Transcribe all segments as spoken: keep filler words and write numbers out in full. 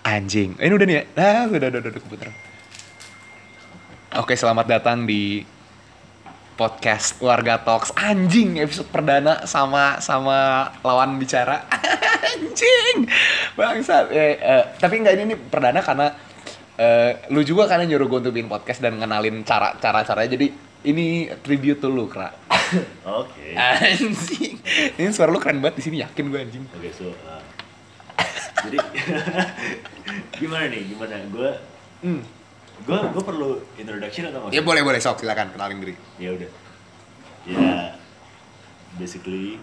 Anjing. Ini udah nih ya? Ah, udah, udah, udah, udah keputar. Oke, selamat datang di podcast Warga Talks. Anjing, episode perdana sama sama lawan bicara. Anjing. Bangsat. Eh, eh, tapi enggak, ini nih perdana karena eh, lu juga kan yang nyuruh gue untuk bikin podcast dan ngenalin cara cara caranya. Jadi ini tribute to lu, Kra. Oke. Anjing. Ini suara lu keren banget di sini, yakin gue anjing. Oke, so uh, jadi gimana nih? Gimana? Gue Hmm. gue gue perlu introduction atau Ya boleh boleh sok, silakan kenalin diri. Ya udah. Ya, basically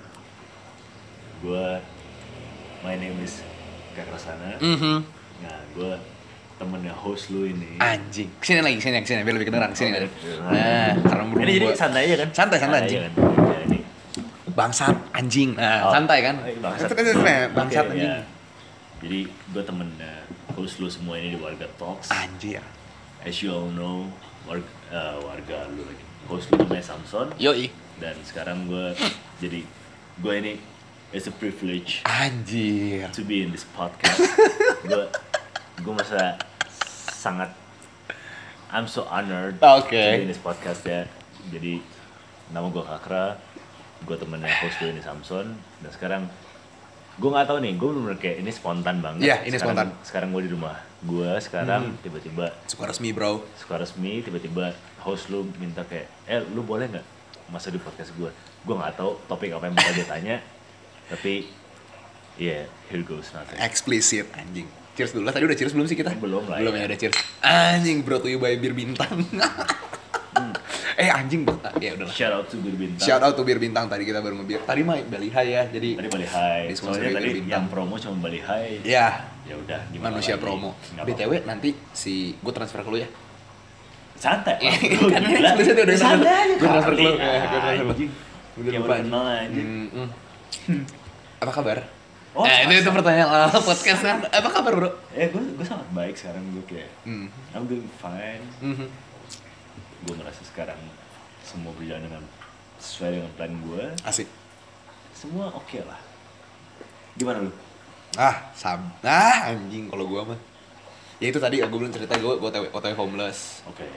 gue my name is Kak Rasana. Mhm. Nah, gue temennya host lu ini. Anjing. Kesini lagi, kesini, kesini biar lebih kedengeran kesini. Oke, Nah, nah, karena belum ini jadi gua- santai aja kan? Santai, santai, anjing. aja kan? Ya, ini. Bangsat anjing. Nah, Oh. santai kan? Oh, iya, bangsat. Itu kan sebenarnya bangsat Oke, anjing. ya. Jadi gue temennya host lu semua ini di Warga Talks. Anjir. As you all know, warga, uh, warga lu lagi. Host lu namanya Samson. Yoi. Dan sekarang gue jadi gue ini it's a privilege Anjir. to be in this podcast. Gue gue merasa sangat I'm so honored Oke. to be in this podcast ya. Jadi nama gue Kakra, gue temennya host lu ini Samson. Dan sekarang gue nggak tahu nih, gue bener-bener kayak ini spontan banget. Iya, ini sekarang, spontan. Sekarang gue di rumah gue sekarang Hmm. tiba-tiba Suka resmi, Bro. suka resmi tiba-tiba host lu minta kayak eh lu boleh nggak masuk di podcast gue. Gue nggak tahu topik apa yang bakal dia tanya, tapi yeah, here goes nothing. Eksplisit anjing. Cheers dulu lah. Tadi udah cheers belum sih kita? Belum lah, Belum ya. ya, udah cheers. Anjing, bro to you by Bir Bintang. Eh anjing, bro. Ya udahlah. Shout out to Bir Bintang. Shout out to Bir Bintang, tadi kita baru ngebir. Tadi mah Bali High ya. Jadi Tadi Bali Hai. Disponsori Soalnya Bir tadi Bintang. yang promo cuma Bali Hai. ya, Ya udah, gimana manusia lagi? promo. Nggak B T W apa-apa. nanti si gue transfer ke lu ya. Santai. Iya, Lu kan gila. explicit udah Santai aja. Gua transfer ke lu, kali. ya, gua transfer ke lu. Anjing. Udah Kayak lupa. baru kenal aja. Hmm, hmm. Apa kabar? Oh, eh, itu sama- itu pertanyaan awal podcast kan. Apa kabar, bro? Eh, gue gue sangat baik sekarang. Gue kayak Hmm. I'm doing fine. Mhm. Gue merasa sekarang semua berjalan dengan sesuai dengan plan gue. Asik. Semua oke lah. Gimana lu? Ah, sab. Ah, anjing kalau gua mah. Ya itu tadi gue belum cerita gue gue O T W homeless. Oke.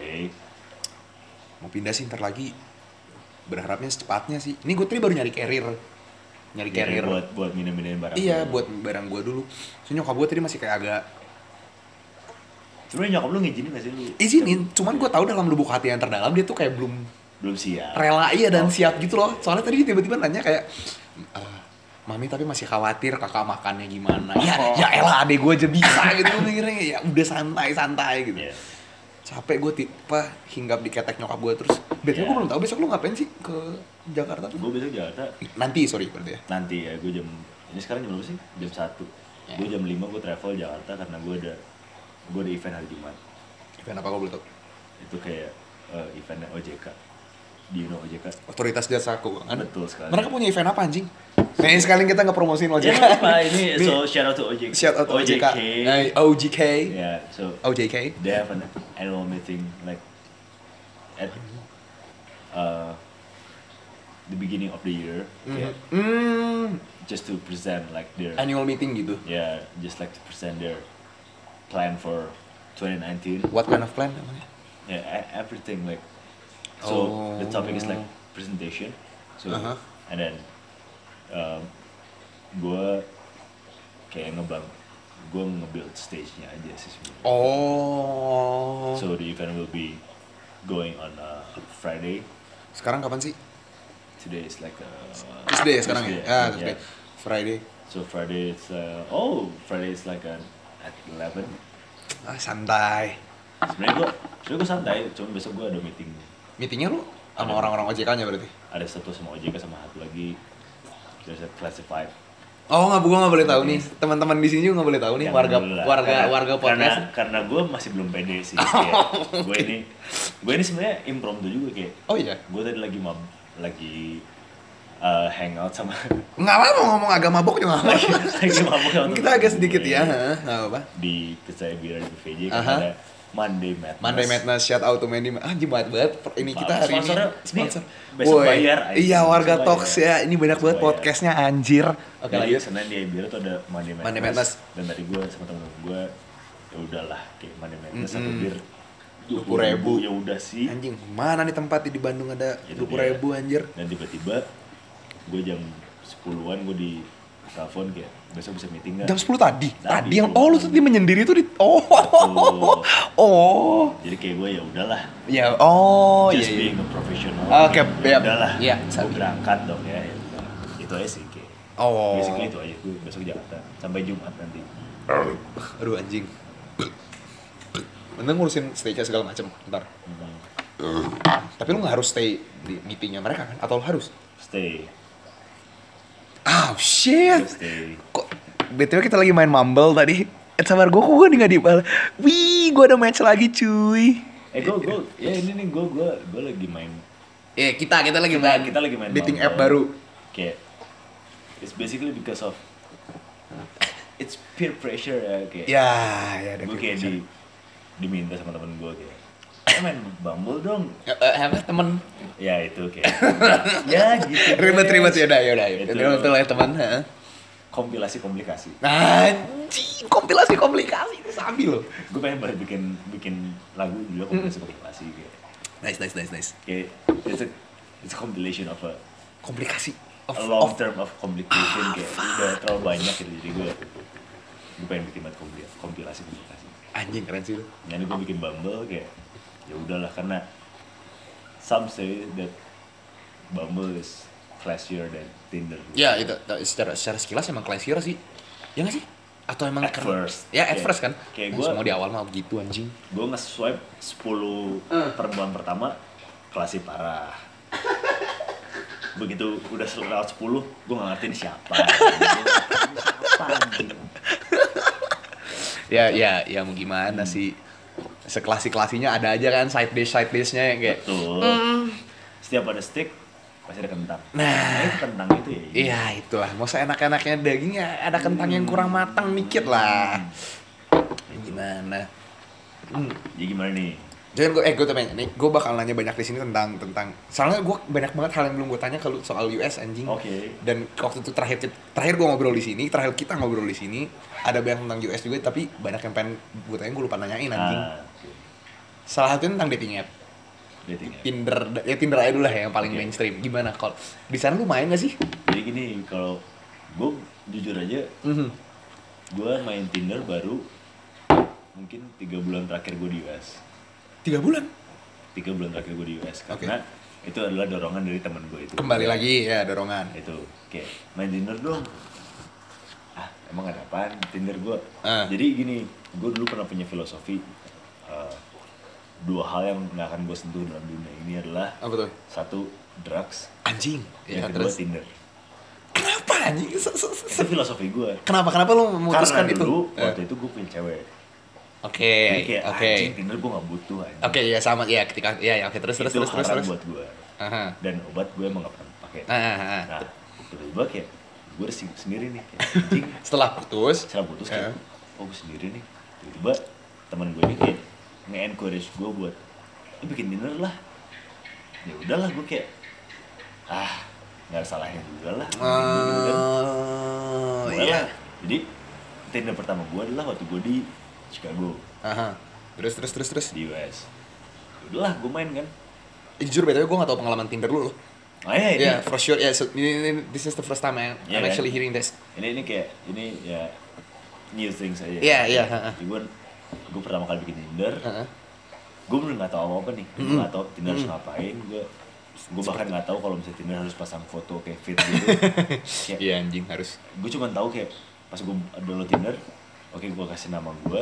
Mau pindah sih ntar lagi. Berharapnya secepatnya sih. Ini gue tadi baru nyari carrier. Nyari Jadi carrier. buat buat minum-minum barang. Iya, lu. buat barang gue dulu. Soalnya nyokap gue tadi masih kayak agak Sebenarnya nyokap lu ngizinin gak sih lu? izinin. Cuman gue tahu dalam lubuk hati yang terdalam dia tuh kayak belum Belum siap. rela iya dan Oh. siap gitu loh. Soalnya tadi dia tiba-tiba nanya kayak "Eh, Mami tapi masih khawatir kakak makannya gimana. Ya, Oh. ya elah adek gue aja bisa gitu mikirnya. Ya udah santai-santai gitu. Iya. Capek gue tipe hinggap di ketek nyokap gue terus. Biasanya Iya. gue belum tahu besok lu ngapain sih ke Jakarta tuh? Gue besok Jakarta Nanti sorry berarti ya. nanti ya, gue jam ini sekarang jam berapa sih? Jam satu. Ya. Gue jam lima gue travel Jakarta karena gue ada gue ada event hari Jumat. Event apa kau boleh tahu? Itu kayak eh, eventnya O J K. Di you know O J K? Otoritas Jasa Keuangan. Betul sekali. Mereka punya event apa anjing? Kayaknya sekali kita nggak promosiin O J K. Ya nggak apa, ini Nih, so shout out to O J K. shout out to O J K. Eh, O J K. Yeah, so O J K. they have an annual meeting like at uh, the beginning of the year, kayak Hmm, just to present like their annual meeting gitu. yeah, just like to present their plan for twenty nineteen. What kind of plan namanya? Yeah, e- everything like so the topic is like Oh. presentation. So Uh-huh. and then um, gue kayak ngebang, gue nge-build stage-nya aja sih sebenarnya. Oh. So the event will be going on uh, Friday. Sekarang kapan sih? Today is like uh, Tuesday ya sekarang ya? Tuesday, Ah, yeah. Tuesday. Friday. So Friday is uh, oh Friday is like uh, at eleven. Ah, santai. Sebenarnya gue sebenarnya gue santai, cuma besok gue ada meeting. Meetingnya lu sama Ada. orang-orang O J K-nya berarti? Ada satu sama O J K sama satu lagi. There's a classified. Oh, nggak, gua nggak boleh tahu nih. Teman-teman di sini juga nggak boleh tahu nih. Jangan Warga, dulu lah. warga, Karena- warga podcast. Karena karena gue masih belum pede sih. Kayak, gue ini gue ini sebenarnya impromptu juga kayak. Oh iya. Gue tadi lagi mab, lagi uh, hangout sama Nggak apa-apa ngomong agak mabok juga nggak lagi, apa-apa. lagi mabuk sama Kita agak sedikit ya, temen gue ha, nggak apa-apa. di Kesaya Bira di V J Aha. karena ada Monday Madness. Monday Madness, shout out to Mandy. Ah, jimat banget. Ini kita hari ini Sponsornya, sponsor. ini besok Woi, bayar, anjing. iya, warga Besok Talks bayar. ya. Ini banyak Besok banget bayar. podcastnya anjir. Oke Jadi lanjut. Senin di Bira tuh ada Monday Madness. Monday Madness. Dan tadi gue sama temen gue ya udahlah kayak mana mana satu Mm-mm. bir dua puluh ribu. ya udah sih. Anjing, mana nih tempat di Bandung ada Itu dua puluh ribu anjir. Dan tiba-tiba gue jam sepuluhan gue di telepon kayak besok bisa meeting nggak? Jam sepuluh tadi. Tadi, Tadi yang bro. oh lu tadi menyendiri tuh di oh. Betul. Oh. Jadi kayak gue ya udahlah. Ya, oh Just iya. being iya. a professional. Oke, ya ya. udahlah. Iya, gue sabi. berangkat dong ya. ya. Itu aja sih kayak. Oh. Basically itu aja gue besok Jakarta sampai Jumat nanti. Aduh anjing. Mending ngurusin stage segala macem ntar. Hmm. Tapi lu nggak harus stay di meetingnya mereka kan? Atau lu harus? Stay. Oh shit. Stay. Kok B T W kita lagi main Mumble tadi. Eh sabar gue kok gue nih gak dibal. Wih, gue ada match lagi cuy. Eh gue gue ya ini nih gue gue gue lagi main. Eh kita kita lagi Kita, main. kita lagi main dating Bumble. app baru. Kayak it's basically because of it's peer pressure ya kayak. Ya, ya ada Gue kayak di diminta sama temen gue kayak "Eh, main Bumble dong." Eh, eh, apa temen Ya itu kayak ya, ya gitu. ribet-ribet ya udah ya udah ya Itu. betul ya teman. Heeh. Kompilasi komplikasi. Anjing, kompilasi komplikasi itu sabi loh. Gue pengen banget bikin bikin lagu juga kompilasi komplikasi kayak Nice nice nice nice. kayak it's a it's a compilation of a, Komplikasi of, a long of term of complication kayak udah terlalu banyak gitu jadi gue gue pengen bikin banget kompilasi kompilasi komplikasi. anjing keren sih lu. Jadi gue bikin Bumble kayak ya udahlah karena some say that Bumble is classier than Tinder. Ya itu secara secara sekilas emang classier sih. Ya nggak sih? Atau emang At keren? first. Ya at Kayak- first kan. kayak Nah, gua- semua di awal mah begitu anjing. Gue nge-swipe sepuluh perempuan pertama klasik parah. Begitu udah lewat sepuluh, gue gak ngerti ini siapa. Ini siapa anjing? Ya ya ya mau gimana sih? Seklasi-klasinya ada aja kan side dish side dishnya yang kayak. Betul. Setiap ada steak, pasti ada kentang. Nah. itu kentang itu ya. Iya itulah. Mau seenak-enaknya dagingnya ada kentang yang kurang matang dikit lah. Ya, gimana? Hmm. Jadi gimana nih? Jangan gue, eh gue tanya nih, gue bakal nanya banyak di sini tentang tentang. Soalnya gue banyak banget hal yang belum gue tanya kalau soal U S anjing. Oke. Dan waktu itu terakhir terakhir gue ngobrol di sini, terakhir kita ngobrol di sini, ada banyak tentang U S juga, tapi banyak yang pengen gue tanya gue lupa nanyain anjing. Ah, oke. Salah satunya tentang dating app, Dating app. Tinder, ya Tinder aja dulu lah ya, yang paling Oke. mainstream. Gimana kalau di sana lu main gak sih? Jadi gini, kalau gue jujur aja, Mhm. gue main Tinder baru mungkin tiga bulan terakhir gue di U S. Tiga bulan. Tiga bulan terakhir gue di U S Oke. karena itu adalah dorongan dari temen gue itu. Kembali lagi ya dorongan. Itu kayak main Tinder dong. Ah emang ada apaan Tinder gue? Ah. Jadi gini, gue dulu pernah punya filosofi eh, dua hal yang nggak akan gue sentuh dalam dunia ini adalah Apa tuh? satu drugs, Anjing. Ya, yang kedua terus Tinder. kenapa anjing? Se- se- se- Itu filosofi gue. Kenapa kenapa lu memutuskan Karena itu? dulu Eh. waktu itu gue punya cewek. Oke, Jadi kayak oke. anjing Tinder gue gak butuh anjing. Oke, ya sama ya ketika ya ya oke terus terus Itu terus terus haram terus. buat gue. Aha. Dan obat gue emang gak pernah pakai. Ah, ah, ah. Nah, tiba-tiba kayak gue udah sing- sendiri nih kayak anjing. Setelah putus, Setelah putus kayak, Eh. oh gue sendiri nih. Tiba-tiba teman gue ini kayak nge-encourage gue buat, lu bikin Tinder lah. Ya udahlah gue kayak, ah nggak ada salahnya juga lah. Gitu kan. Oh, Mulai iya. lah. Jadi Tinder pertama gue adalah waktu gue di Chicago, Aha. Terus terus terus terus. di U S. Ya udahlah gue main kan. Eh, jujur btw gue gak tau pengalaman Tinder lu loh. Oh iya ini, Yeah, for sure. Yeah, so ini, ini this is the first time I, Iya I'm kan? actually hearing this. ini ini kayak ini ya new things aja. Iya, iya, ha-ha. Jadi gue gue pertama kali bikin Tinder, Heeh. gue bener nggak tahu apa apa nih, gue Mm-mm. nggak tahu Tinder harus ngapain, gue gue bahkan nggak tahu kalau misalnya Tinder harus pasang foto kayak fit gitu. Kayak, Iya anjing harus. gue cuma tahu kayak pas gue download Tinder, oke gue kasih nama gue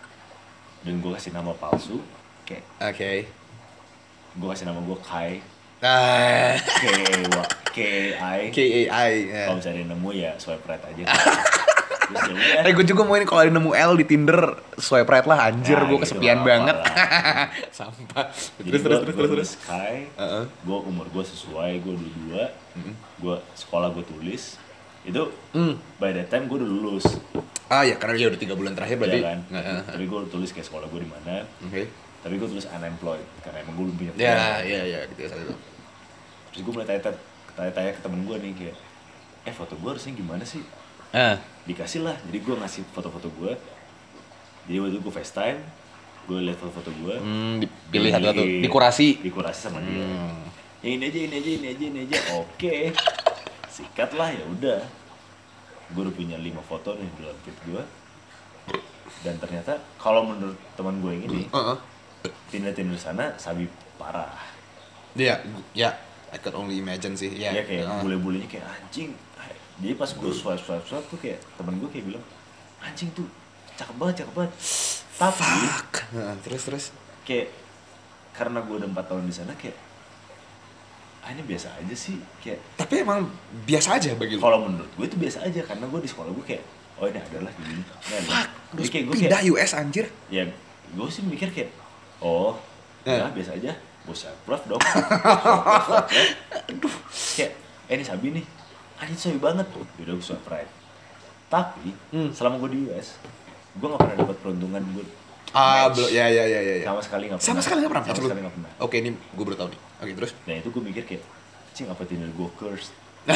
dan gue kasih nama palsu, kayak Oke. gue kasih nama gue Kai, Ah, K K I. K A I. ya. Kalau misalnya nemu ya swipe right aja. Terus ya udah. Eh gue juga mau ini kalau ada nemu L di Tinder swipe right lah anjir Nah, gue gitu, kesepian apa-apa banget. lah. Sampah. Jadi Terus terus gua- terus gua terus terus. tulis Kai, Heeh. gue umur gue sesuai, gue udah dua, gue sekolah gue tulis, itu Hmm. by that time gue udah lulus, Ah ya karena dia udah tiga bulan terakhir berarti. ya kan? Nggak, eh, eh. Tapi gue tulis kayak sekolah gue di mana, Oke. tapi gue tulis unemployed karena emang gue belum punya Ya pekerjaan. ya ya gitu saat itu. Terus gue mulai tanya tanya ke temen gue nih kayak, eh foto gue harusnya gimana sih? Ah. Dikasih lah, jadi gue ngasih foto-foto gue, Jadi waktu itu gue FaceTime, gue liat foto-foto gue. Hmm, dipilih satu-satu, dikurasi. Dikurasi sama dia. Hmm. Ya ini aja, ini aja, ini aja, ini aja. Oke. Sikat lah, ya udah. Gue udah punya lima foto nih dalam feed gue. Dan ternyata kalau menurut teman gue yang ini, Uh-uh. Tinder-Tinder sana sabi parah. Iya, ya. I could only imagine sih. Ya, Ya kayak uh. bule-bulenya kayak anjing. Jadi pas gue swipe swipe swipe tuh kayak temen gue kayak bilang anjing tuh cakep banget cakep banget. Tapi Fuck. Nah, terus terus. kayak karena gue udah empat tahun di sana kayak ah ini biasa aja sih kayak. Tapi emang biasa aja bagi lu. Kalau menurut gue itu biasa aja karena gue di sekolah gue kayak oh ini adalah gini. Fuck. Terus kayak gue pindah kayak U S anjir. ya gue sih mikir kayak oh Ya. ya biasa aja. Gue swipe dong. Aduh. Kayak eh ini sabi nih. Anjing sabi banget. Udah gue swipe right. Tapi Hmm. selama gue di U S, gue gak pernah dapat peruntungan gue Ah, match. belum. Ya ya ya ya. ya. Sama sekali gak pernah. Sama sekali nggak pernah. Sama Absolut. sekali gak pernah. Oke, ini gue baru tahu nih. Oke, terus. Nah itu gue mikir kayak, cing apa Tinder gue cursed.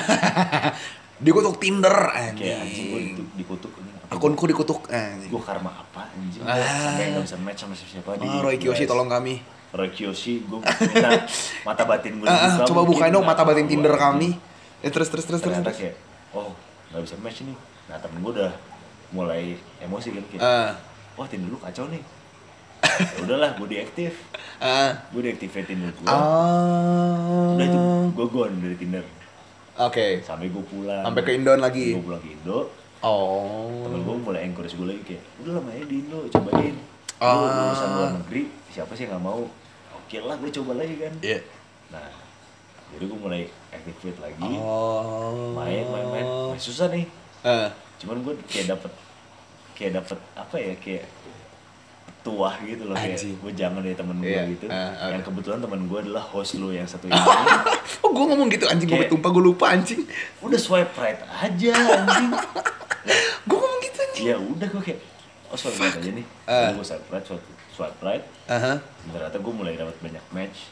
Dikutuk Tinder Kayak anjing gue anjing. di- dikutuk ini. Akunku dikutuk anjing. Gue karma apa anjing. Ah. Sampai gak bisa match sama siapa-siapa di Oh, Roy Kiyoshi U S. tolong kami. Roy Kiyoshi, gue minta mata batin gue Ah, ah, dibuka, coba mungkin bukain dong nggak mata batin tahu Tinder anjing. kami. Eh terus terus terus terus. Ternyata terus. kayak, oh gak bisa match nih. Nah temen gue udah mulai emosi kan kayak, Ah. wah Tinder lu kacau nih. Ya udahlah, gue deaktif. Ah. Gue deaktifin Tinder gue. Ah. Udah itu gue gone dari Tinder. Oke. Sampai gue pulang. Sampai ke Indon lagi. Gue pulang ke Indo. Oh. Temen gue mulai encourage gue lagi kayak, udah lah mainnya di Indo, cobain. Lu Ah. lulusan luar negeri, siapa sih yang gak mau? Oke lah, gue coba lagi kan. Iya. Nah, jadi gue mulai activate lagi. Oh. Main, main, main. Main susah nih. Eh. Cuman gue kayak dapet, kayak dapet apa ya, kayak tuah gitu loh. Kayak Anjing. gue jangan dari temen gue Iya, gitu. ah, oke. Yang kebetulan temen gue adalah host lu yang satu ini. Oh, gue ngomong gitu anjing, gue Kayak- tumpah, gue lupa anjing. Udah swipe right aja anjing. Gue ngomong gitu anjing. Ya udah gue kayak oh swipe right aja nih. Ah. Gue swipe right, swipe, swipe right. Aha. Ternyata gue mulai dapat banyak match.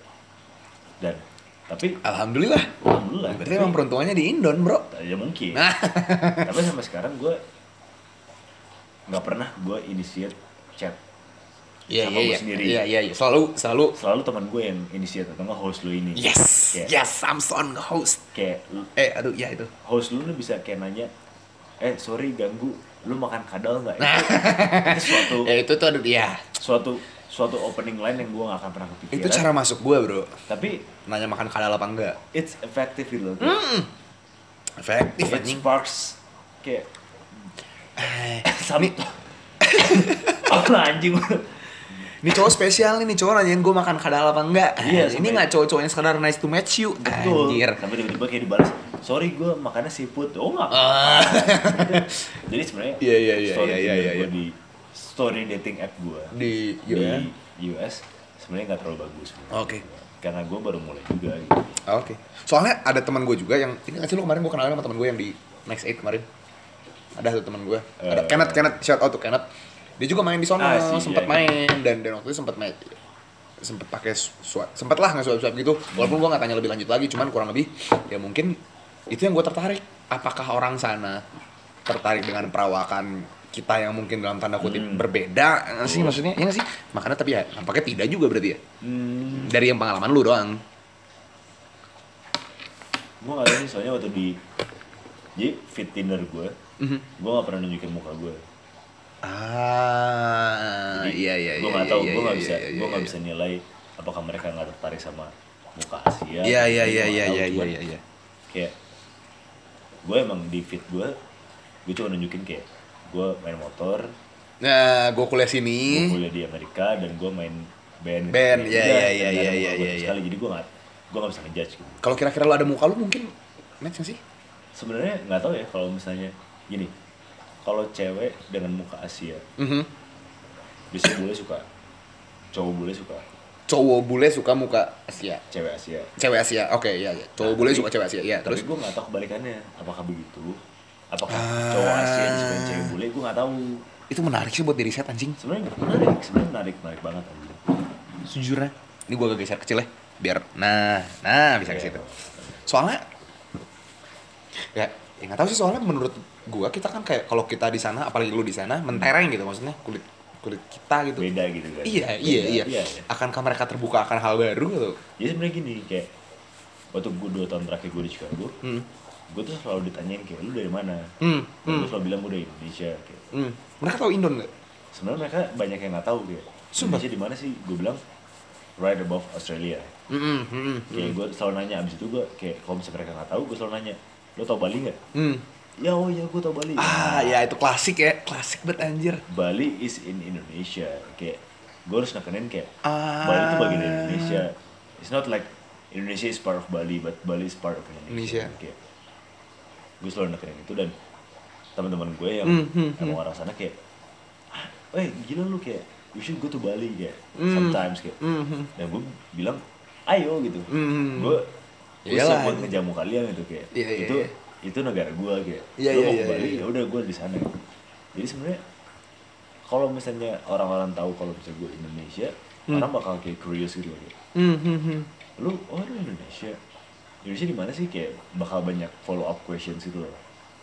Dan tapi Alhamdulillah. alhamdulillah. Berarti tapi- emang peruntungannya di Indon, bro. ya mungkin. Nah. Tapi sampai sekarang gue nggak pernah gue initiate chat. Iya Sama iya gue iya. sendiri. Iya iya iya. Selalu selalu. Selalu teman gue yang initiate atau nggak host lu ini. Yes. Kayak, Yes, Samson host. kayak lu- Eh, aduh, ya itu. host lu nih bisa kayak nanya, eh sorry ganggu, lu makan kadal nggak? Nah. Itu, itu suatu Ya itu tuh aduh ya. suatu suatu opening line yang gue gak akan pernah kepikiran. Itu cara masuk gue, bro. Tapi Nanya makan kadal apa enggak. it's effective gitu loh. Hmm. Efektif It anjing. sparks kayak Eh, Sampai oh anjing. Ini cowok spesial nih, nih cowok nanyain gue makan kadal apa enggak. Iya, Ini sampai- nggak cowok-cowok yang sekedar nice to meet you. Betul. Anjir. Sampai tiba-tiba kayak dibalas, sorry gue makannya seafood. Oh nggak Ah. apa-apa. Jadi sebenarnya Iya, iya, iya, story iya, iya, Tinder iya, gua iya. di story dating app gue Di di U S. U S sebenarnya nggak terlalu bagus. Oke. Karena gue baru mulai juga gitu. Oke. Soalnya ada teman gue juga yang ini nggak sih lu kemarin gue kenalin sama teman gue yang di Next Eight kemarin. Ada tuh teman gue. Ada Eh. Kenneth, Kenneth, shout out to Kenneth. Dia juga main di sono, Ah, sih, sempat iya, main dan dan waktu itu sempat main sempat pakai swipe, sempat lah nggak swipe swipe gitu. Walaupun gue nggak tanya lebih lanjut lagi, cuman kurang lebih ya mungkin itu yang gue tertarik. Apakah orang sana tertarik dengan perawakan kita yang mungkin dalam tanda kutip Hmm. berbeda nggak sih maksudnya? Iya nggak sih? Makanya tapi ya nampaknya tidak juga berarti ya. Hmm, Dari yang pengalaman lu doang. gue nggak tahu sih soalnya waktu di jadi fit Tinder gue, Mhm. gue nggak pernah nunjukin muka gue. Ah, Jadi iya iya gue iya. nggak tahu, iya, gue nggak iya, bisa, iya, gue nggak iya. bisa nilai apakah mereka nggak tertarik sama muka Asia. Iya iya Gue iya nggak iya tahu, iya cuman iya iya. Kayak gue emang di fit gue, gue cuma nunjukin kayak gue main motor, Nah, gue kuliah gue sini. kuliah di Amerika dan gue main band. Band, gitu. iya, Udah, iya, dan iya, nggak ada iya, muka iya, gue iya, sekali, jadi gue nggak gue nggak bisa ngejudge gitu. Kalau kira-kira lo ada muka lu mungkin match nggak sih? Sebenarnya nggak tahu ya kalau misalnya gini, kalau cewek dengan muka Asia, Mhm. biasanya bule suka, cowok bule suka, Cowok bule suka muka Asia. cewek Asia. Cewek Asia. Oke, iya iya. Cowok Nah, bule tapi- suka cewek Asia. Iya, Terus terus gue nggak tahu kebalikannya, apakah begitu? Apakah Ah. cowok Asia disukain cewek bule? Gue nggak tahu. itu menarik sih buat diri set anjing. Sebenarnya menarik, sebenarnya menarik, menarik banget anjing. Sejujurnya. Ini gue agak geser kecil ya, biar nah, nah bisa ke situ. Soalnya ya, ya nggak tahu sih soalnya menurut gua kita kan kayak kalau kita di sana apalagi lu di sana mentereng gitu maksudnya kulit kulit kita gitu. Beda gitu kan. Iya, Beda, iya, iya. iya. Akankah mereka terbuka akan hal baru gitu? Jadi sebenarnya gini kayak waktu gue dua tahun terakhir gue di Chicago, Hmm. gue tuh selalu ditanyain kayak lu dari mana? Hmm. Dan Hmm. gue selalu bilang gue dari Indonesia. Kayak. Hmm. Mereka tahu Indon nggak? Sebenarnya mereka banyak yang nggak tahu kayak Sumpah? Indonesia di mana sih? Gue bilang right above Australia. Hmm. Hmm. Kayak gue selalu nanya abis itu gue kayak kalau misalnya mereka nggak tahu gue selalu nanya lo tau Bali nggak? Hmm. Ya oh ya gue tau Bali. Ah, ya itu klasik ya, klasik banget anjir. Bali is in Indonesia. Kayak gue harus nekenin kayak Ah. Bali itu bagian dari Indonesia. It's not like Indonesia is part of Bali, but Bali is part of Indonesia. Indonesia. Kayak gue selalu nekenin itu dan teman-teman gue yang Hmm, hmm, emang orang sana kayak, ah, eh gila lu kayak, you should go to Bali kayak, Hmm. sometimes kayak. Hmm. Hmm. Dan gue bilang, ayo gitu. Hmm. Gue gue Iyalah, siap buat anjing. ngejamu kalian gitu kayak. Iya, iya, itu iya. itu negara gue kayak. Iya, Lu iya, mau iya, ke Bali, iya. ya udah gue di sana. Jadi sebenarnya kalau misalnya orang-orang tahu kalau misalnya gue Indonesia, Hmm. orang bakal kayak curious gitu loh kayak. Hmm. Hmm. Hmm. Lu, oh lu Indonesia. Indonesia di mana sih kayak bakal banyak follow up questions gitu loh.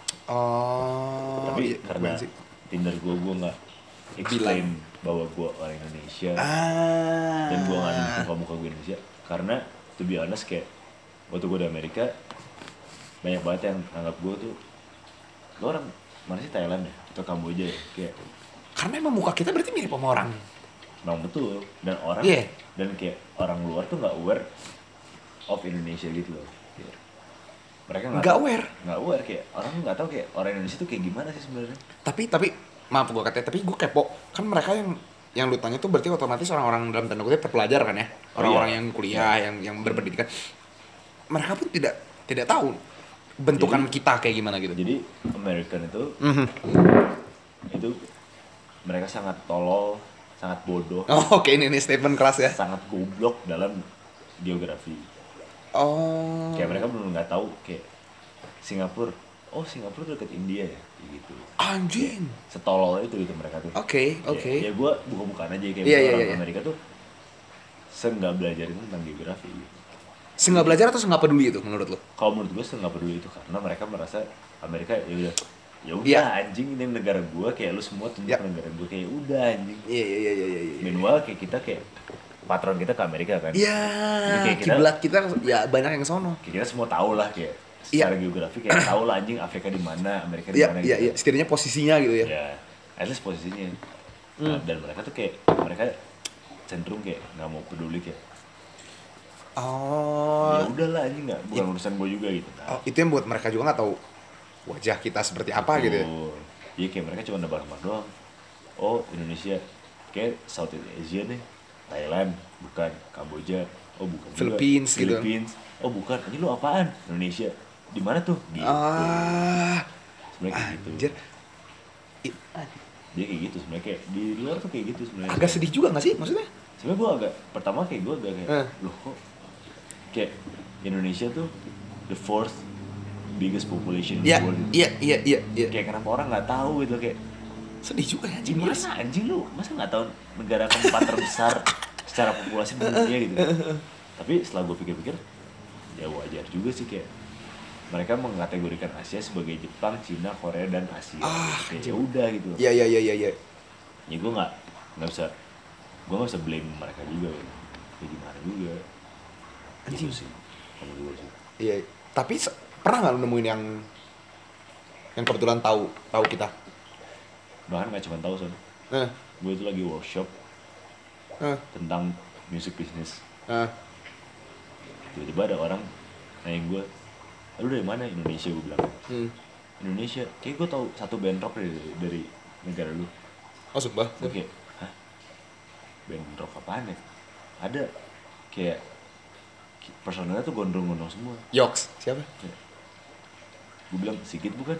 Oh. Tapi iya, karena bukan sih. Tinder gue gue nggak explain bahwa gue orang Indonesia Ah. dan gue nggak nunjukin kalau muka gue Indonesia karena to be honest kayak waktu gue di Amerika banyak banget yang anggap gue tuh lo orang mana sih Thailand ya atau Kamboja ya kayak Karena emang muka kita berarti mirip sama orang. memang betul dan orang Iya. dan kayak orang luar tuh nggak aware of Indonesia gitu loh. Kayak, mereka nggak Nggak tahu- aware. nggak aware kayak orang nggak tahu kayak orang Indonesia tuh kayak gimana sih sebenarnya. Tapi tapi maaf gua katanya, tapi gua kepo. Kan mereka yang yang lu tanya tuh berarti otomatis orang-orang dalam tanda kutip terpelajar kan ya. Orang-orang iya. yang kuliah, yang yang berpendidikan. Mereka pun tidak tidak tahu bentukan Jadi- kita kayak gimana gitu. Jadi American itu Mhm. itu mereka sangat tolol, sangat bodoh, Oh, oke ini nih statement keras ya. sangat goblok dalam geografi. Oh. Kayak mereka benar nggak tahu kayak Singapura. Oh Singapura tuh dekat India ya, kayak gitu. Anjing. Setolol itu gitu mereka tuh. Oke, Kayak, oke. Ya gue buka-bukaan aja kayak Iya, iya, orang iya. Amerika tuh se-nggak belajarin tentang geografi. Gitu. Senggak belajar atau senggak peduli itu menurut lu? Kalau menurut gue se-nggak peduli itu karena mereka merasa Amerika ya udah ya udah Iya. anjing ini negara gue kayak lu semua tunjuk Iya. negara gue kayak udah anjing. Iya iya iya iya iya. Meanwhile kayak kita kayak patron kita ke Amerika kan. Iya, Jadi kayak kita- kiblat kita ya banyak yang sono. Kayak kita semua tahu lah kayak secara geografi kayak tahu lah anjing Afrika di mana, Amerika di Iya mana iya gitu. iya, setidaknya posisinya gitu ya. Ya, at least posisinya. Hmm. Nah, dan mereka tuh kayak mereka cenderung kayak nggak mau peduli kayak Oh. ya udahlah anjing nggak bukan urusan gue juga gitu. Nah, Oh, itu yang buat mereka juga nggak tahu wajah kita seperti apa gitu ya. betul. Iya kayak mereka cuma nebak-nebak doang. Oh Indonesia, kayak Southeast Asia nih, Thailand, bukan Kamboja, oh bukan juga. Philippines gitu. Philippines, oh bukan. Ini lu apaan? Indonesia. Di mana tuh? Gitu. Ah, Sebenarnya kayak gitu. anjir. I- Dia kayak gitu sebenarnya kayak di luar tuh kayak gitu sebenarnya. agak sedih juga nggak sih maksudnya? Sebenarnya gue agak pertama kayak gue agak kayak Eh. loh kok kayak Indonesia tuh the fourth biggest population in Iya the world. iya iya iya iya. Kayak kenapa orang nggak tahu gitu kayak Sedih juga ya anjing. gimana anjing lu masa nggak tahu negara keempat terbesar secara populasi di dunia gitu. Tapi setelah gue pikir-pikir ya wajar juga sih kayak mereka mengkategorikan Asia sebagai Jepang, Cina, Korea dan Asia. Ah, kayak ya udah gitu. Iya iya iya iya iya. Ya gue nggak nggak bisa gue nggak bisa blame mereka juga ya. Kayak gimana juga. Anjing. Gitu sih. Kalau gue sih. Iya, tapi se- pernah nggak lu nemuin yang yang kebetulan tahu tahu kita? Bahkan nggak cuma tahu son. Eh, Gue itu lagi workshop eh, tentang music business. eh. Tiba-tiba ada orang nanya gue, lu dari mana? Indonesia, gue bilang. Hmm. Indonesia, kayak gue tahu satu band rock dari, dari negara lu. Oh sumpah. Gue kayak, hah? Band rock apaan ya? Ada kayak personalnya tuh gondrong-gondrong semua. Yoks, siapa? Gue bilang, Sigit bukan?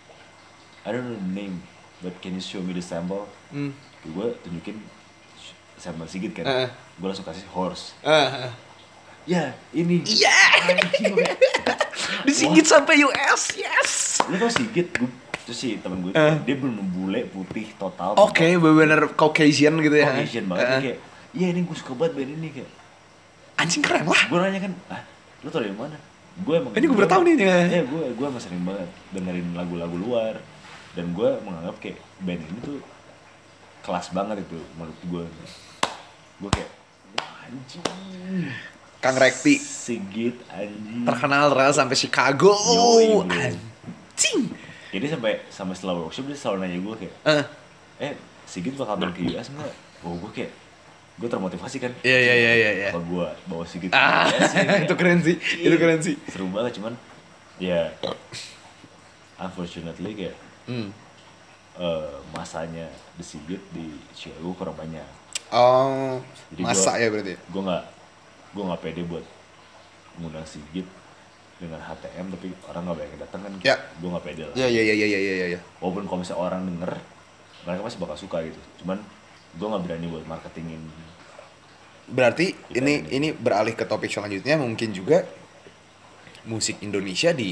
I don't know the name, but can you show me the sample? Hmm. Gue tunjukin sampel Sigit kan. Eh. Gue langsung kasih horse. Eh, eh. Ya, ini. Iya. Anjing, gue kayak, Disinggit sampai U S, yes. lu tau Sigit? Gue, terus si temen gue, Eh. dia belum bule, putih, total. Oke, bener-bener Caucasian gitu ya. Caucasian banget. Dia Eh. kayak, iya ini gue suka banget band ini kayak. Anjing keren lah. Gue nanya kan, ah lu tau dari mana? Gue emang Ini gue baru tahu nih, ya. Iya gue gue emang sering banget dengerin lagu-lagu luar. dan gue menganggap kayak band ini tuh kelas banget itu menurut gue. Gue kayak wah, anjing Kang Rekti Sigit anjing terkenal rel sampai Chicago. Yoi, bro. Anjing. Jadi sampai sampai setelah workshop dia selalu nanya gue kayak Eh, eh Sigit bakal main ke U S nggak? Oh gue kayak gue termotivasi kan. Iya iya iya iya iya. Kalau gue bawa Sigit Ah, ke U S, ya, kayak, itu keren sih. Itu keren sih. seru banget cuman ya unfortunately kayak Hmm. eh, masanya The Sigit di Chicago kurang banyak. Oh, Jadi masa gua- ya berarti. Gue nggak gue nggak pede buat ngundang Sigit dengan H T M tapi orang nggak banyak yang datang kan. Ya. Gue nggak pede lah. Iya iya iya iya iya iya iya. Walaupun kalau misalnya orang denger mereka pasti bakal suka gitu. Cuman gue nggak berani buat marketingin. Berarti Kita ini ini. ini beralih ke topik selanjutnya, mungkin juga musik Indonesia di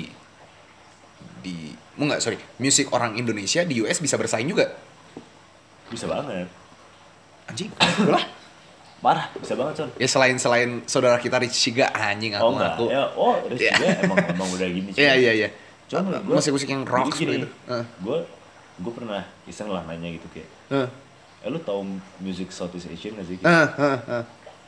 di enggak sorry musik orang Indonesia di U S bisa bersaing juga. Bisa banget. Anjing, lah. Parah, bisa banget Son. Ya selain selain saudara kita Rich Siga, anjing aku Oh enggak, ngaku. ya, oh Rizky Iya. emang, emang udah gini Iya iya iya. Cuman menurut gua, musik-musik yang rock jadi gini, seperti itu. Heeh. Gue gue pernah iseng lah nanya gitu kayak, Heeh. eh lu tau music Southeast Asian gak sih? Heeh, heeh, heeh.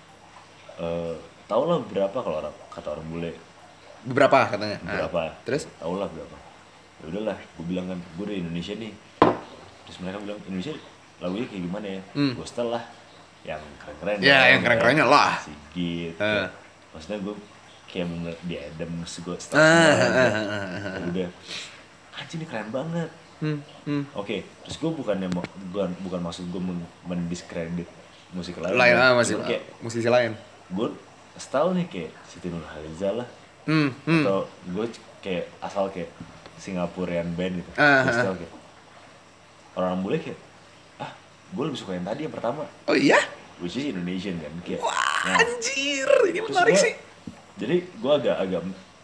Eh, tau lah berapa kalau orang kata orang bule, Beberapa katanya. Ah. berapa? Terus? Tau lah berapa? Ya udahlah, gue bilang kan, gue dari Indonesia nih. Terus mereka bilang Indonesia lagunya kayak gimana ya? Hmm. Gue setel lah, yang keren-keren. Ya, dong, yang keren-kerennya kayak lah. Sigit. Eh. kayak- Maksudnya gue kayak bener di Adams gue setel Ah, semua. ah, gitu. ah, ah, ah, Ya udah, anjing ini keren banget. Hmm, hmm. Oke, terus gue bukannya mau bukan bukan maksud gue men mendiskredit musik lain. Lain ya. ah masih Cuman kayak musisi lain. gue style nih kayak Siti Nurhaliza lah, Hmm, hmm. atau gue kayak asal kayak Singaporean band gitu. Ah, Gue ah, style kayak orang bule kayak ah gue lebih suka yang tadi yang pertama, Oh iya? which is Indonesian kan kayak. Wah, Nah, anjir, ini terus menarik gua- sih. Jadi gue agak agak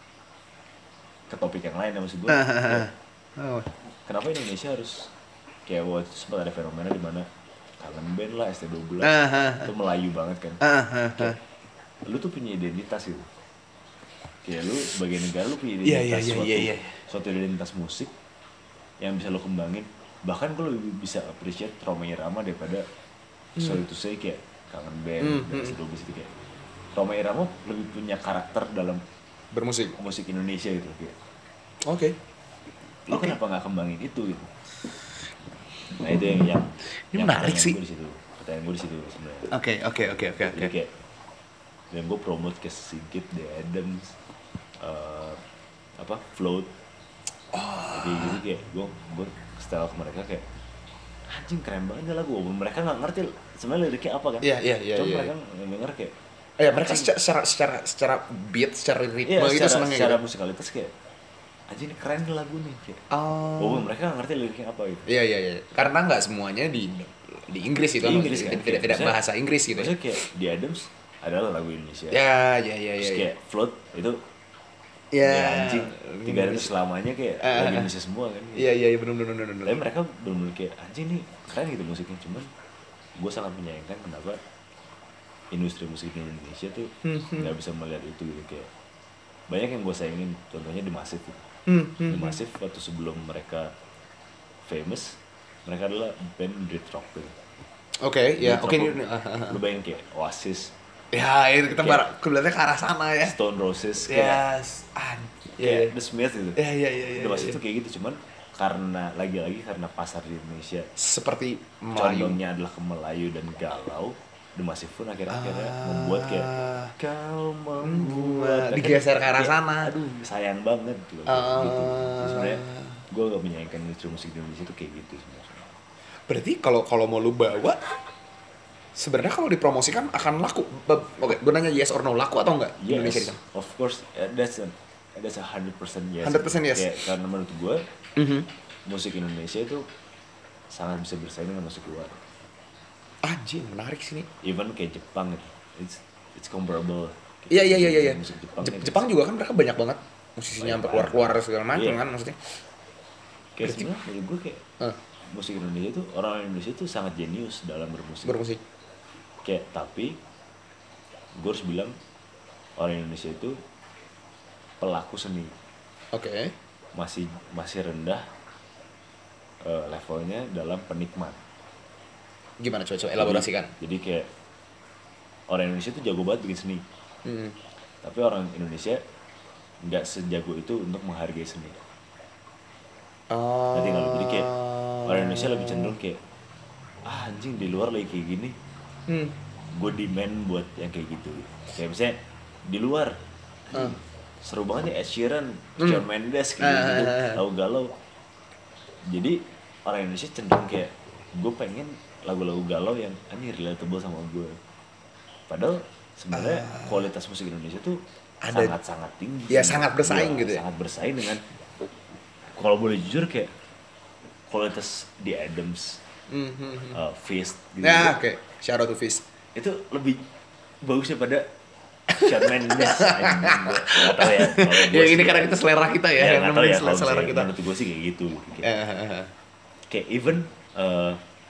ke topik yang lain ya, maksud gue. Ah, ah, ah. Oh. Kenapa Indonesia harus kayak waktu itu sempat ada fenomena di mana kangen band lah S T dua belas Ah, ah, itu Melayu banget kan. Ah, ah, ah. Kayak, lu tuh punya identitas gitu. Kayak lu sebagai negara lu punya Iya, identitas iya, iya, suatu, iya, iya. suatu identitas musik yang bisa lu kembangin. Bahkan gue lebih bisa appreciate Rhoma Irama daripada sorry to say kayak kangen band Hmm, dan hmm. S T dua belas itu kayak Rhoma Irama lebih punya karakter dalam Bermusik. musik Indonesia gitu kayak. Oke. Lu Oke. kenapa nggak kembangin itu gitu? Nah itu yang yang Ini yang menarik pertanyaan sih. gue di situ. Pertanyaan gue di situ sebenarnya. Oke, oke, oke, oke, Jadi oke. kayak dan gue promote ke Sigit, The Adams, eh, apa Float. Jadi jadi kayak gue gue setel ke mereka kayak anjing keren banget nih lagu. Walaupun mereka nggak ngerti sebenarnya liriknya apa kan. Iya, iya, iya, Cuma iya. mereka nggak denger kayak Eh, mereka anjing. secara, secara secara secara beat, secara ritme Iya, itu secara, senengnya secara gitu. musikalitas kayak anjing ini keren nih lagu nih kayak. Oh. Walaupun mereka nggak ngerti liriknya apa gitu. Iya, iya, iya. Karena nggak semuanya di di Inggris itu, Di Inggris kan, tidak, tidak, kayak tidak maksudnya- bahasa Inggris gitu. Maksudnya kayak The Adams adalah lagu Indonesia. Ya, ya, ya, Terus ya. kayak Float itu Ya, ya anjing tiga hari selamanya kayak Ah, lagu ah. Indonesia semua kan. Iya, iya, iya, benar, benar, benar, benar. Tapi mereka benar-benar kayak anjing nih keren gitu musiknya, cuman gue sangat menyayangkan kenapa industri musik di Indonesia tuh Hmm, nggak bisa melihat itu gitu kayak banyak yang gue sayangin, contohnya The Massive gitu. Hmm, The hmm. Massive waktu sebelum mereka famous mereka adalah band Brit rock gitu. Oke, ya, Brit oke. rock, ini- ah, ah, ah. lu bayangin kayak Oasis, Ya, itu kita Kayak- bar- kelihatannya ke arah sana ya. Stone Roses, kayak, Yes, an. kayak Iya, The Smiths gitu. iya, iya, iya, iya. The Massive iya. tuh kayak gitu, cuman karena lagi-lagi karena pasar di Indonesia Seperti Melayu. condongnya adalah ke Melayu dan galau, The Massive pun akhirnya akhirnya Ah. membuat kayak kau membuat Digeser ke arah Kayak, sana. aduh sayang banget gitu, Ah. gitu. Jadi sebenarnya gue gak menyayangkan industri musik di Indonesia itu kayak gitu sebenarnya. Berarti kalau kalau mau lu bawa, sebenarnya kalau dipromosikan akan laku. Be- Oke, gue nanya yes or no, laku atau enggak di Indonesia di Yes, sana? of course, uh, that's a that's a hundred percent yes. one hundred percent yes. Kayak, karena menurut gue Mhm. musik Indonesia itu sangat bisa bersaing dengan musik luar. Anjing, menarik sih nih. Even kayak Jepang gitu, it's it's comparable. Iya, iya, iya, iya. iya. Musik Jepang, Jep- kan. Jepang juga kan mereka banyak banget musisinya sampai keluar-keluar segala macam Iya. kan maksudnya. Kayak sebenarnya menurut gue kayak Eh, musik Indonesia itu orang Indonesia itu sangat jenius dalam bermusik. bermusik. Kayak tapi gue harus bilang orang Indonesia itu pelaku seni Oke. masih masih rendah uh, levelnya dalam penikmat. Gimana coba-coba elaborasikan? Jadi, jadi kayak orang Indonesia tuh jago banget bikin seni. Mm-hmm. Tapi orang Indonesia nggak sejago itu untuk menghargai seni. Oh. Nanti kalau jadi kayak orang Indonesia lebih cenderung kayak ah anjing di luar lagi kayak gini. Hmm. Gue demand buat yang kayak gitu. Kayak misalnya di luar Uh. seru banget ya Ed Sheeran, Hmm. Shawn Mendes kayak Uh, gitu, uh, uh. galau-galau. Jadi orang Indonesia cenderung kayak gue pengen lagu-lagu galau yang anjir relatable sama gue. Padahal sebenarnya uh. kualitas musik Indonesia tuh ada, sangat-sangat tinggi. Ya sangat bersaing ya, gitu ya. Sangat bersaing dengan kalau boleh jujur kayak kualitas The Adams, mm-hmm. uh, Fist gitu. Ya, oke. Okay. Shout out to Fist. Itu lebih bagus daripada Shawn Mendes. Enggak tahu ya. Ya ini karena kita selera kita ya, ya yang tahu ya, selera, selera kita. Menurut gue sih kayak gitu. Kayak, uh, kayak even uh,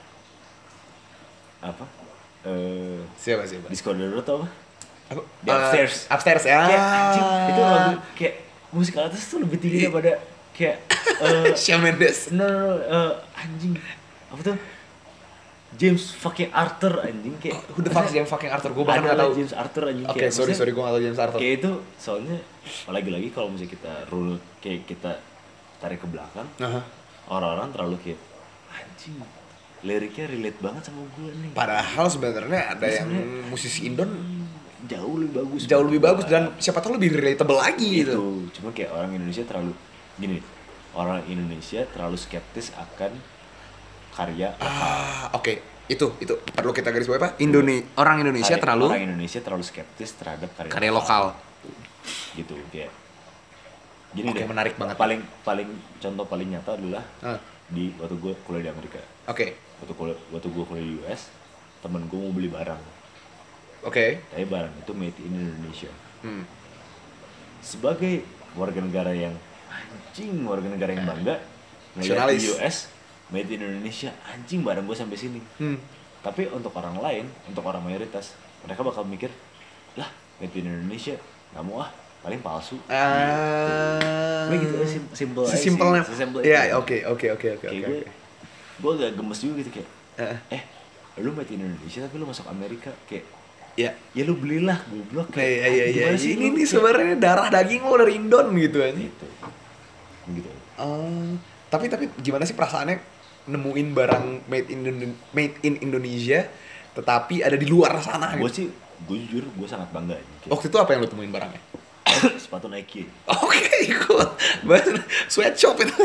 apa? Uh, siapa siapa? Discordero tau apa? Aku, The uh, Upstairs. Upstairs ya. Kayak anjing, itu lagu kayak musik atas tuh lebih tinggi daripada kayak uh, Shawn Mendes. No, no, no uh, anjing. Apa tuh? James fucking Arthur anjing kayak who the fuck James fucking Arthur? Gue bahkan nggak tahu. James Arthur anjing. Oke, okay, sorry sorry gue nggak tahu James Arthur. Kayak itu soalnya lagi-lagi kalau misalnya kita rule kayak kita tarik ke belakang, uh-huh. orang-orang terlalu kayak anjing liriknya relate banget sama gue nih. Padahal sebenarnya ada yang musisi Indon jauh lebih bagus. Jauh lebih bagus dan siapa tahu lebih relatable lagi itu. gitu. Cuma kayak orang Indonesia terlalu gini, orang Indonesia terlalu skeptis akan karya lokal. Ah, oke. Okay. Itu itu perlu kita garis bawahi, Pak. Indone- orang Indonesia karya, terlalu orang Indonesia terlalu skeptis terhadap karya, karya lokal. lokal. Gitu kayak. Gini okay, deh. Menarik banget. Paling paling contoh paling nyata adalah uh. di waktu gue kuliah di Amerika. Oke. Okay. Waktu kuliah waktu gue kuliah di U S, temen gue mau beli barang. Oke. Okay. Tapi barang itu made in Indonesia. Hmm. Sebagai warga negara yang anjing, warga negara yang bangga ngeliat di U S made in Indonesia, anjing barang gue sampai sini. Hmm. Tapi untuk orang lain, untuk orang mayoritas, mereka bakal mikir, lah made in Indonesia, nggak mau ah, paling palsu. Ah. Uh, gitu, sim- simple aja sih. Simpelnya. Simple ya, oke, oke, oke, oke, oke. Gue agak gemes juga gitu kayak, uh. eh, lu made in Indonesia tapi lu masuk Amerika kayak, ya, ya lu belilah goblok kayak. Iya, iya, iya. Ini nih sebenarnya darah daging lo dari Indon gitu aja. Gitu. Gitu. Uh, tapi tapi gimana sih perasaannya nemuin barang made in made in Indonesia tetapi ada di luar sana gitu? Gue sih, gue jujur gue sangat bangga. Kayak. Waktu itu apa yang lo temuin barangnya? Sepatu Nike. Oke, okay, cool. Sweatshop itu.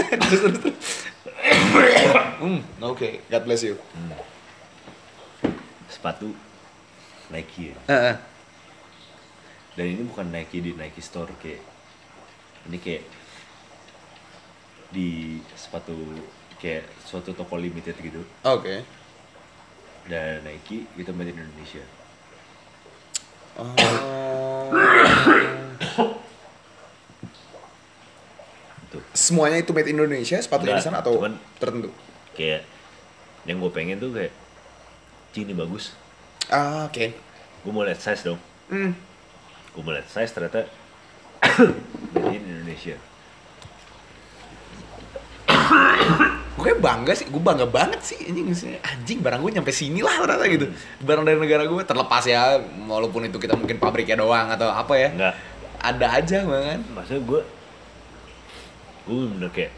Hmm, oke. Okay. God bless you. Hmm. Sepatu Nike. Uh-uh. Dan ini bukan Nike di Nike Store kayak. Ini kayak di sepatu kayak suatu toko limited gitu. Oke. Okay. Dan Nike itu made in Indonesia. Oh. Tuh. Semuanya itu made in Indonesia, sepatunya di sana atau cuman, tertentu? Kayak yang gue pengen tuh kayak ini bagus. Ah, oke. Okay. Gue mau lihat size dong. Hmm. Gue mau lihat size ternyata made in Indonesia. Gue bangga sih, gue bangga banget sih anjing, anjing barang gue nyampe sini lah ternyata gitu. Barang dari negara gue terlepas ya, walaupun itu kita mungkin pabriknya doang atau apa ya. Enggak. Ada aja banget. Maksudnya gue, gue bener kayak,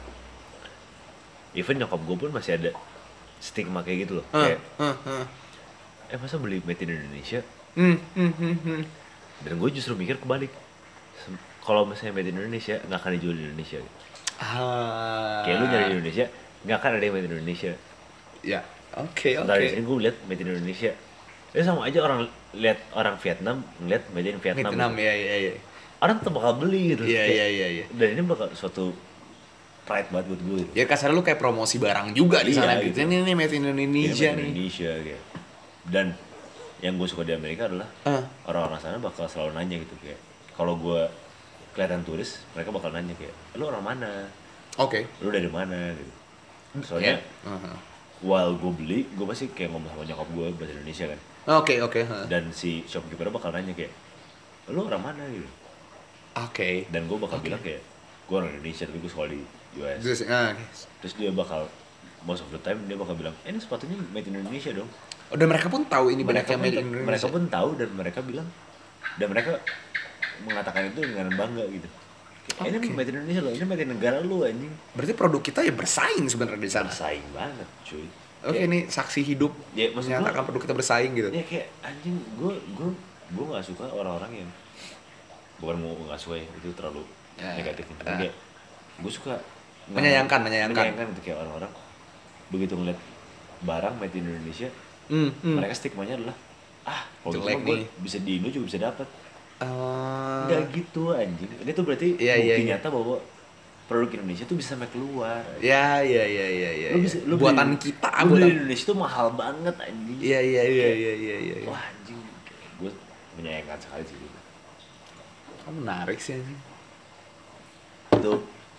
even nyokap gue pun masih ada stigma kayak gitu loh. Uh, kayak, uh, uh. eh masa beli made in Indonesia? Hmm, hmm, hmm, hmm. Dan gue justru mikir kebalik. Kalau misalnya made in Indonesia, nggak akan dijual di Indonesia. Ah. Kayak lu nyari di Indonesia, nggak akan ada yang made in Indonesia. Ya, oke, okay, oke. Okay. Dari sini gue lihat made in Indonesia. Ya sama aja orang lihat orang Vietnam ngeliat made in Vietnam. Vietnam, gitu. ya, ya, ya. Orang tuh bakal beli gitu. Iya, iya, iya, iya. Dan ini bakal suatu pride banget buat gue. Gitu. Ya kasar lu kayak promosi barang juga di sana iya, gitu. Ini nih made in Indonesia ya, made in nih. Indonesia gitu. Dan yang gue suka di Amerika adalah uh. orang-orang sana bakal selalu nanya gitu kayak, kalau gue kelihatan turis, mereka bakal nanya kayak, lu orang mana? Oke. Okay. Lu dari mana? Gitu. Soalnya, yeah. uh-huh. while gue beli, gue pasti kayak ngomong sama nyokap gue bahasa Indonesia kan. Oke, okay, oke. Okay, huh. Dan si shopkeeper bakal nanya kayak, lu orang mana gitu? Oke. Okay. Dan gue bakal okay. bilang kayak, gue orang Indonesia tapi gue sekolah di U S. Terus, uh, Terus dia bakal most of the time dia bakal bilang, eh, ini sepatunya made in Indonesia dong. Oh, dan mereka pun tahu ini Mereka banyaknya pun, made in Indonesia. mereka pun tahu dan mereka bilang, dan mereka mengatakan itu dengan bangga gitu. Eh, ini Oke. made in Indonesia loh, ini made in negara lu anjing. Berarti produk kita ya bersaing sebenarnya di sana. Bersaing banget cuy. Oke, Kayak- ini saksi hidup Ya, maksud gua- menyatakan produk kita bersaing gitu. Ya kayak anjing, gue gue gue nggak suka orang-orang yang bukan mau nggak suka ya, itu terlalu Ya, negatif gitu. ya. Kayak gue suka Menyayangkan, menyayangkan. menyayangkan itu kayak orang-orang begitu ngeliat barang made in Indonesia, Hmm, hmm. mereka stigmanya adalah ah kalau gitu Jelek mah gue nih. bisa di Indo juga bisa dapat. Eh, Nggak gitu anjing. Ini tuh berarti Iya, bukti iya, iya. nyata bahwa produk Indonesia tuh bisa sampai keluar. Ya, ya, ya, ya, ya. Lu ya. bisa lu buatan beli- kita, lu beli buatan. di Indonesia tuh mahal banget anjing. Iya, iya, iya, Kayak, iya, iya, iya. Ya. Wah anjing, gue menyayangkan sekali sih gitu. Oh, menarik sih anjing. Itu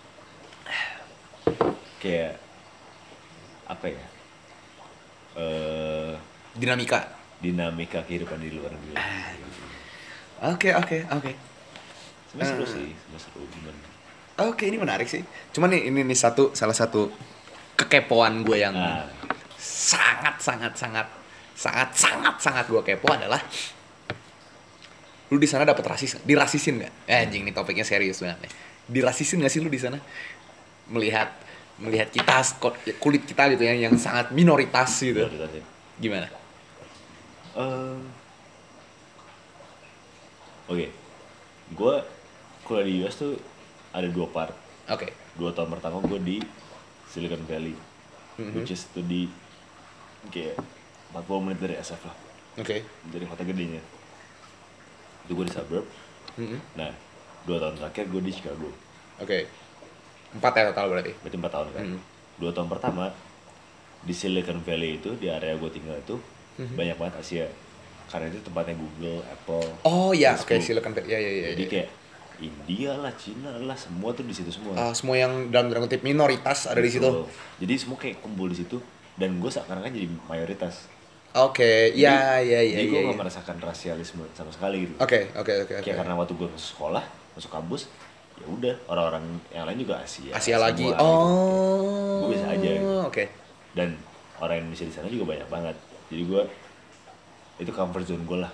kayak apa ya? Eh Dinamika. dinamika kehidupan di luar negeri. Oke, oke, oke. Sebenarnya seru Eh. sih, sebenarnya seru gimana? Oke, ini menarik sih. Cuman nih ini nih satu salah satu kekepoan gue yang Nah. sangat sangat sangat sangat sangat sangat gue kepo adalah lu di sana dapat rasis, dirasisin nggak? Eh, anjing nih topiknya serius banget nih. Dirasisin nggak sih lu di sana? Melihat melihat kita kulit kita gitu ya yang sangat minoritas gitu. Minoritas ya. Gimana? Ehm, Oke, gue kuliah di U S tuh ada dua part. Oke. Dua tahun pertama gue di Silicon Valley, Mhm. which is tuh di kayak empat puluh menit dari S F lah, Oke. dari kota gedenya. Itu gue di suburb. Mhm. Nah, dua tahun terakhir gue di Chicago. Oke. Empat ya total berarti. Berarti empat tahun kan. Mhm. Dua tahun pertama di Silicon Valley itu, di area gue tinggal itu Mhm. banyak banget Asia. Karena itu tempatnya Google, Apple. Oh ya, oke, Facebook. Silicon Valley. Ya, ya, ya. Jadi ya. kayak India lah, Cina lah, semua tuh di situ semua. Ah, semua yang dalam tanda kutip minoritas ada di situ. Betul. Jadi semua kayak kumpul di situ dan gue seakan-akan jadi mayoritas. Oke, ya, ya, ya, Jadi gue ya. gak ya. merasakan rasialisme sama sekali gitu. Oke, oke, oke, oke. Kayak karena waktu gue masuk sekolah, masuk kampus, ya udah orang-orang yang lain juga Asia. Asia lagi. semua gitu. Oh. Gue biasa aja gitu. Oke. Dan orang Indonesia di sana juga banyak banget. Jadi gue itu comfort zone gue lah.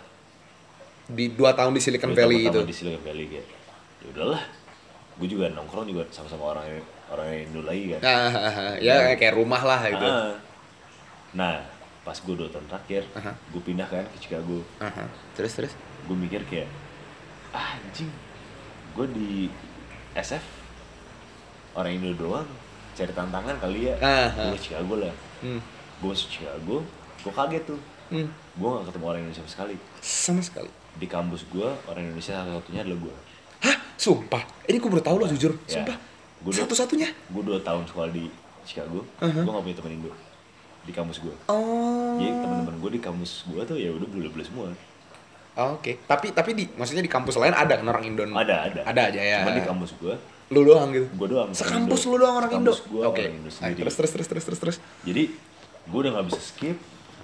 Di dua tahun di Silicon Dua tahun Valley itu. pertama di Silicon Valley kayak ya udahlah. Gue juga nongkrong juga sama-sama orang orang Indo lagi kan. Ah, ah, ah. ya kayak rumah lah gitu. Ah. Nah, pas gue dua tahun terakhir, Aha. gue pindah kan ke Chicago. Aha. Terus terus. Gue mikir kayak, ah, anjing, gue di S F orang Indo doang, cari tantangan kali ya. Aha. Gue ke Chicago lah. Hmm. Gue masuk Chicago, gue kaget tuh. Hmm. Gue gak ketemu orang Indonesia sama sekali. Sama sekali. Di kampus gue, orang Indonesia satu-satunya adalah gue. Hah? Sumpah. Ini gue baru tahu loh jujur. Ya. Sumpah. Gua udah- Satu-satunya. Gue dua tahun sekolah di Chicago, Aha. gue gak punya temen Indo di kampus gue. Oh. Jadi teman-teman gue di kampus gue tuh ya udah bule-bule semua. Oke. Tapi tapi di maksudnya di kampus lain ada kan orang Indo? Ada, ada. Ada aja ya. Cuma di kampus gue, Lu doang gitu. gue doang. Sekampus Indo. lu doang orang Indo. Sekampus gue Oke. orang Indo Nah, sendiri. terus terus terus terus terus terus. Jadi gue udah gak bisa skip,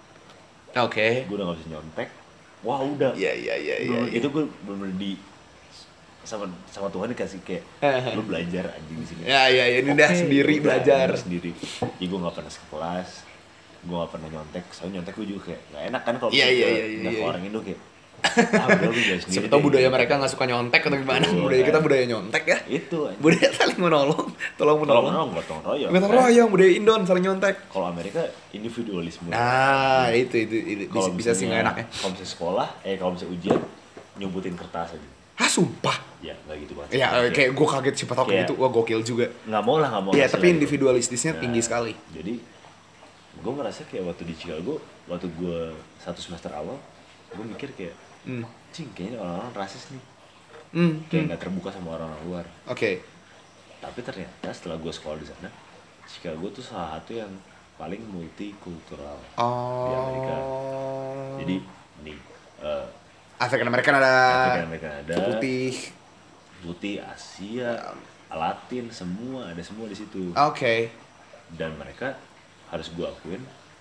Oke. gue udah gak bisa nyontek. Wah udah. Iya iya iya iya. Bener- iya. Itu gue bener di sama sama Tuhan dikasih kayak lu belajar anjing di sini. Ya ya ya ini udah Oke, sendiri udah, belajar. udah sendiri. Jadi gue gak pernah skip kelas, gue gak pernah nyontek. Soalnya nyontek gue juga kayak gak enak kan kalau Iya, misalnya iya, ke- iya, udah iya. ke orang Indo kayak ah udah lu belajar sendiri. Siapa tau deh. budaya mereka nggak suka nyontek atau gimana? Betul, Budaya kita kan. budaya nyontek ya. Itu anjing. Budaya saling menolong, tolong Kalau menolong. orang gotong royong. Gotong kan. royong, budaya Indon saling nyontek. Kalau Amerika individualisme. Nah, itu itu, itu. Kalau bisa, bisa sih nggak misalnya- enaknya. Kalau misalnya sekolah, eh kalau misalnya ujian, nyebutin kertas aja. Hah, sumpah. Ya nggak gitu banget. Ya, kayak gue kaget siapa tau kayak Kayak- gitu. Wah, gokil juga. nggak mau lah nggak mau. Iya, ngasih tapi lah gitu. individualistisnya Nah, tinggi sekali. Jadi gue merasa kayak waktu di Chicago, waktu gue satu semester awal, gue mikir kayak, Hmm. cing kayaknya orang-orang rasis nih, Hmm. kayak hmm. nggak terbuka sama orang-orang luar. Oke. Tapi ternyata setelah gue sekolah di sana, Chicago tuh salah satu yang paling multikultural Oh. di Amerika. Jadi nih, uh, African American ada. Afrika Amerika ada, Putih. putih, Asia, Latin, semua ada semua di situ. Oke. Dan mereka harus gue akuin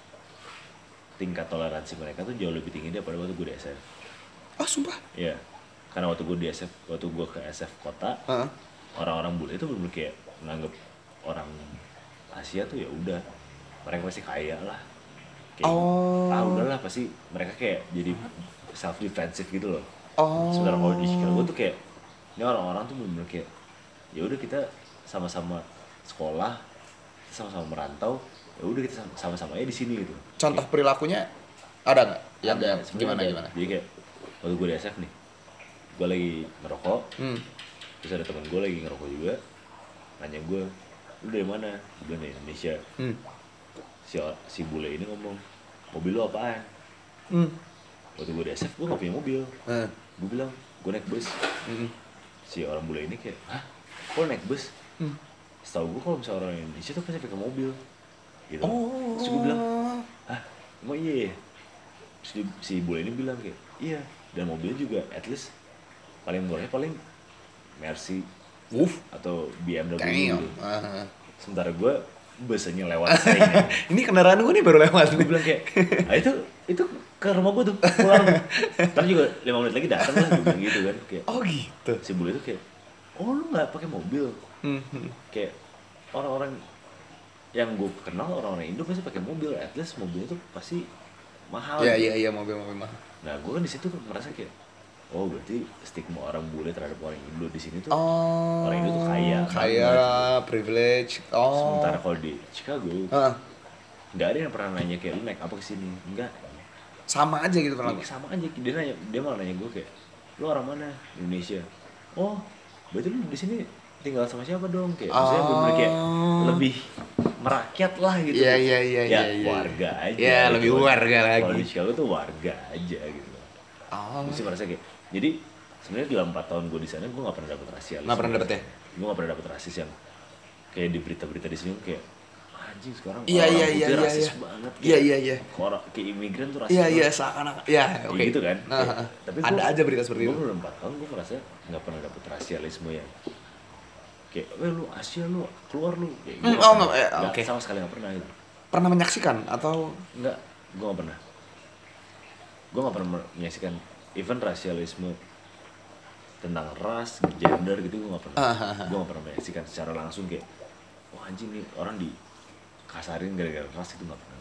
tingkat toleransi mereka tuh jauh lebih tinggi daripada waktu gue di S F. Oh, sumpah. Iya, karena waktu gue di S F, waktu gue ke S F kota, Heeh. orang-orang bule itu bener-bener kayak nganggep orang Asia tuh ya udah mereka pasti kaya lah. Kayak, Oh. ah udahlah pasti mereka kayak jadi self defensive gitu loh. Oh. Sementara kalau di Chicago tuh kayak ini orang-orang tuh bener-bener kayak ya udah kita sama-sama sekolah, kita sama-sama merantau, ya udah kita sama-sama aja di sini gitu. Contoh kayak, perilakunya ada nggak? Yang ada, gimana ada. gimana? Jadi kayak waktu gue di S F nih, gue lagi ngerokok, Hmm. terus ada teman gue lagi ngerokok juga, nanya gue, lu dari mana? Gue bilang dari Indonesia. Hmm. Si si bule ini ngomong, mobil lu apaan? Hmm. Waktu gue di S F gue gak punya mobil. Hmm. Gue bilang gue naik bus. Hmm. Si orang bule ini kayak, hah? Kok naik bus? Hmm. Setahu gue kalau misalnya orang Indonesia tuh pasti pakai mobil, gitu. Oh. Terus gue bilang, hah? Emang iya? Terus di, si bule ini bilang kayak, iya. Dan mobilnya juga, at least paling murahnya paling Mercy, Wuff. atau B M W Damn. gitu. Uh-huh. Sementara gue busnya lewat sering. Ini kendaraan gue nih baru lewat. Gue bilang kayak, ah itu itu ke rumah gue tuh pulang. Ntar juga lima menit lagi datang lah, gue bilang gitu kan. Kayak, Oh gitu. si bule itu kayak, oh lu nggak pakai mobil? Hmm. Kayak orang-orang yang gue kenal orang-orang Indo pasti pakai mobil, at least mobilnya tuh pasti mahal. Iya gitu. iya iya mobil-mobil mahal. Nah gue kan di situ merasa kayak, oh berarti stigma orang bule terhadap orang Indo di sini tuh Oh. orang Indo tuh kaya, kaya, banget. privilege. Oh. Sementara kalau di Chicago Uh, nggak ada yang pernah nanya kayak lu naik apa kesini, enggak. sama aja gitu Iya, pernah. sama aja dia nanya, dia malah nanya gue kayak, lu orang mana? Indonesia. Oh berarti lu di sini tinggal sama siapa dong? Kayak maksudnya Oh. bener-bener kayak lebih merakyat lah gitu. Iya iya iya ya, iya. iya. warga aja. Iya, gitu. lebih warga lagi. Kalau di Chicago tuh warga aja gitu. Oh. Gue sih merasa kayak, jadi sebenarnya dalam empat tahun gue di sana gue nggak pernah dapet rasialisme. Nggak pernah dapet ya? Gue nggak pernah dapet rasis yang kayak di berita-berita di sini kayak anjing sekarang Iya orang iya putih iya iya. rasis iya. banget. Iya iya iya. Orang kayak imigran tuh rasis. Iya banget. iya seakan-akan. Iya Kayak oke. gitu kan. Nah, Kayak, tapi ada gua, aja berita seperti gua itu. belum empat tahun gue merasa nggak pernah dapet rasialisme yang kayak, weh lu Asia lu keluar lu. Kayak, gua Hmm, nggak oh, pernah. nggak, eh, Nggak, oke. sama sekali nggak pernah itu. Pernah menyaksikan atau Nggak, gue nggak pernah. Gue nggak pernah menyaksikan even rasialisme tentang ras, gender gitu gue nggak pernah. Gue nggak pernah menyaksikan secara langsung kayak, wah anjing nih orang dikasarin gara-gara ras itu nggak pernah.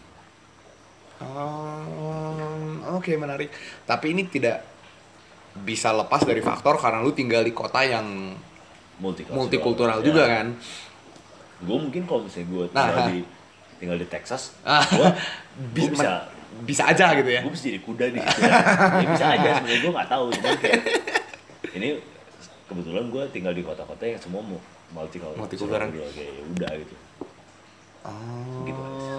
Oh, oke menarik. Tapi ini tidak bisa lepas dari faktor karena lu tinggal di kota yang Multikultural, multikultural ya. juga kan. Gue mungkin kalau misalnya gue Nah, tinggal ah. di tinggal di Texas, Ah. gue Bisa, bisa bisa aja gitu ya. gue bisa jadi kuda di situ. Ya bisa aja sebenarnya gue nggak tahu, cuman kayak ini kebetulan gue tinggal di kota-kota yang semua mu- multikultural, Multikultural. kayak ya udah gitu. Oh. Gitu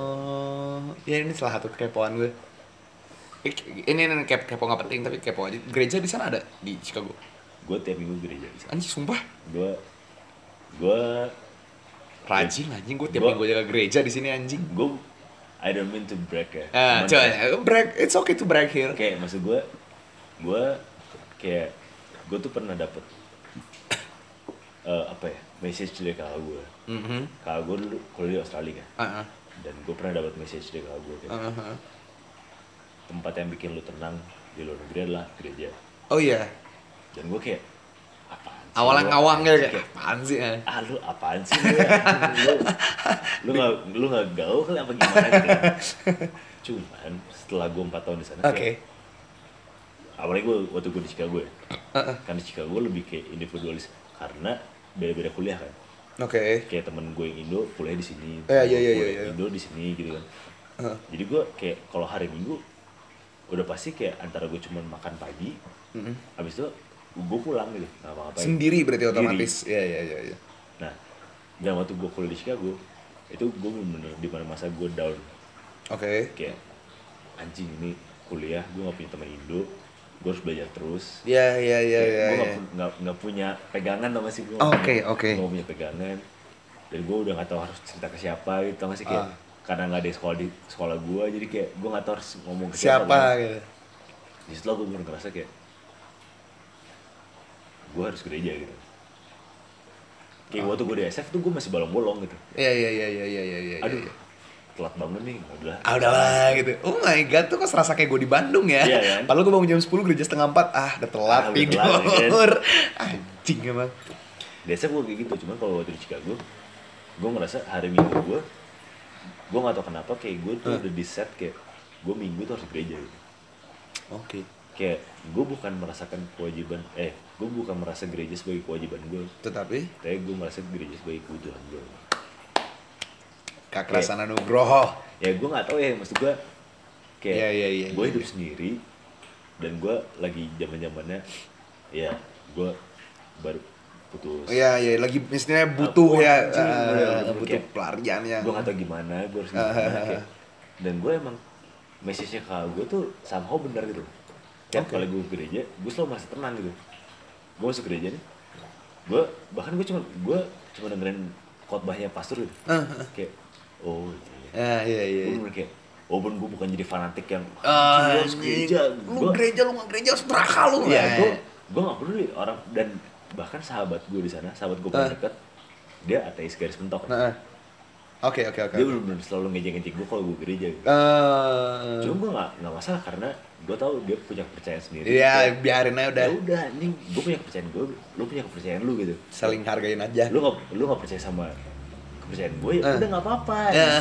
Ya ini salah satu kepoan gue. Ini ini kep kepo nggak penting tapi kepo aja. Gereja di sana ada di Chicago. Gue tiap minggu gereja di sana. Anjing sumpah. Gue gue Rajin anjing gue tiap Gua- minggu jaga gereja di sini anjing. gue I don't mean to brag ya. Ah, Cuman coba kayak- brag. It's okay to brag here. kayak maksud gue gue kayak gue tuh pernah dapet eh, apa ya message dari kakak gue. Mhm. Kakak gue dulu kuliah di Australia kan, Heeh. dan gue pernah dapet message dari kakak gue kayak, Heeh. tempat yang bikin lu tenang di luar negeri adalah gereja. Oh iya. Dan gue kayak apaan sih Awalnya lu? ngawang gitu Kayak, kayak apaan sih? eh? ah lu apaan sih lu ya? lu lu nggak lu nggak gaul kali apa gimana gitu kan. Cuman setelah gue empat tahun di sana Oke. kayak awalnya gue waktu gue di Chicago ya, Heeh. kan di Chicago gue lebih kayak individualis karena beda-beda kuliah kan. Oke. Kayak temen gue yang Indo kuliah di sini, Eh, iya, iya, kuliah iya, iya. Indo di sini gitu kan. Heeh. Jadi gue kayak kalau hari Minggu udah pasti kayak antara gue cuman makan pagi, Mm-mm. abis itu gue pulang gitu, nggak apa-apa. Sendiri berarti Sendiri. otomatis. Iya iya iya iya. Nah, dan waktu gue kuliah di Chicago, itu gue bener-bener di mana masa gue down, Oke. kayak anjing ini kuliah, gue nggak punya teman Indo, gue harus belajar terus. Iya iya iya Kayak iya. gue nggak iya. pu- nggak nggak punya pegangan tau gak sih gue. Oke, oke. Gue punya pegangan, dan gue udah nggak tahu harus cerita ke siapa gitu, tau gak sih kayak Ah. karena nggak ada sekolah di sekolah gue, jadi kayak gue nggak tahu harus ngomong ke siapa. Siapa kan. gitu. Di situ gue bener ngerasa kayak gue harus gereja gitu. Kayak Oh. waktu gue di S F tuh gue masih bolong-bolong gitu. Iya iya iya iya iya iya iya. Aduh, iya. telat bangun nih, udah. Ah udahlah gitu. Oh my god, tuh kok serasa kayak gue di Bandung ya. Iya, kan? Padahal gue bangun jam sepuluh gereja setengah empat. Ah, udah telat Ah, udah tidur. telat, Anjing emang. Di S F gue kayak gitu, cuman kalau waktu di Chicago, gue ngerasa hari Minggu gue gue nggak tahu kenapa kayak gue tuh Huh. udah di set kayak gue minggu tuh harus gereja gitu. Oke. Kayak gue bukan merasakan kewajiban, eh gue bukan merasa gereja sebagai kewajiban gue, Tetapi tapi gue merasa gereja sebagai kebutuhan gue. kekerasan Nugroho. Ya gue nggak tahu ya, maksud gue kayak Iya, iya, iya, gue iya. hidup sendiri dan gue lagi zaman zamannya ya gue baru putus. Iya, iya, lagi misalnya butuh Aku ya, anjing, eh, bener-bener butuh kayak, pelarian yang. gue nggak tahu gimana gue harus gimana kayak, dan gue emang message-nya ke gue tuh somehow benar gitu. Tiap Oke. kali gue ke gereja gue selalu merasa tenang gitu. Gue masuk gereja nih, gue bahkan gue cuma gue cuma dengerin khotbahnya pastor gitu. Kayak oh iya. Ah, iya, iya. Gue bener kayak walaupun gue bukan jadi fanatik yang Ah, "Anjing, lu harus gereja, lu Gua- gereja, lu nggak gereja harus neraka lu. Iya, Eh. gue gue nggak peduli orang, dan bahkan sahabat gue di sana, sahabat gue paling Ah. dekat, dia ateis garis mentok. Nah, oke, oke, oke. Dia bener-bener selalu ngejek-ngejek gue kalau gue gereja. Gitu. Eh, Cuma gue nggak nggak masalah karena gue tahu dia punya kepercayaan sendiri. Iya, Kayak, biarin aja udah. ya udah anjing, gue punya kepercayaan gue, lu punya kepercayaan lu gitu. Saling hargain aja. Lu nggak lu nggak percaya sama kepercayaan gue, ya Ah. udah nggak apa-apa.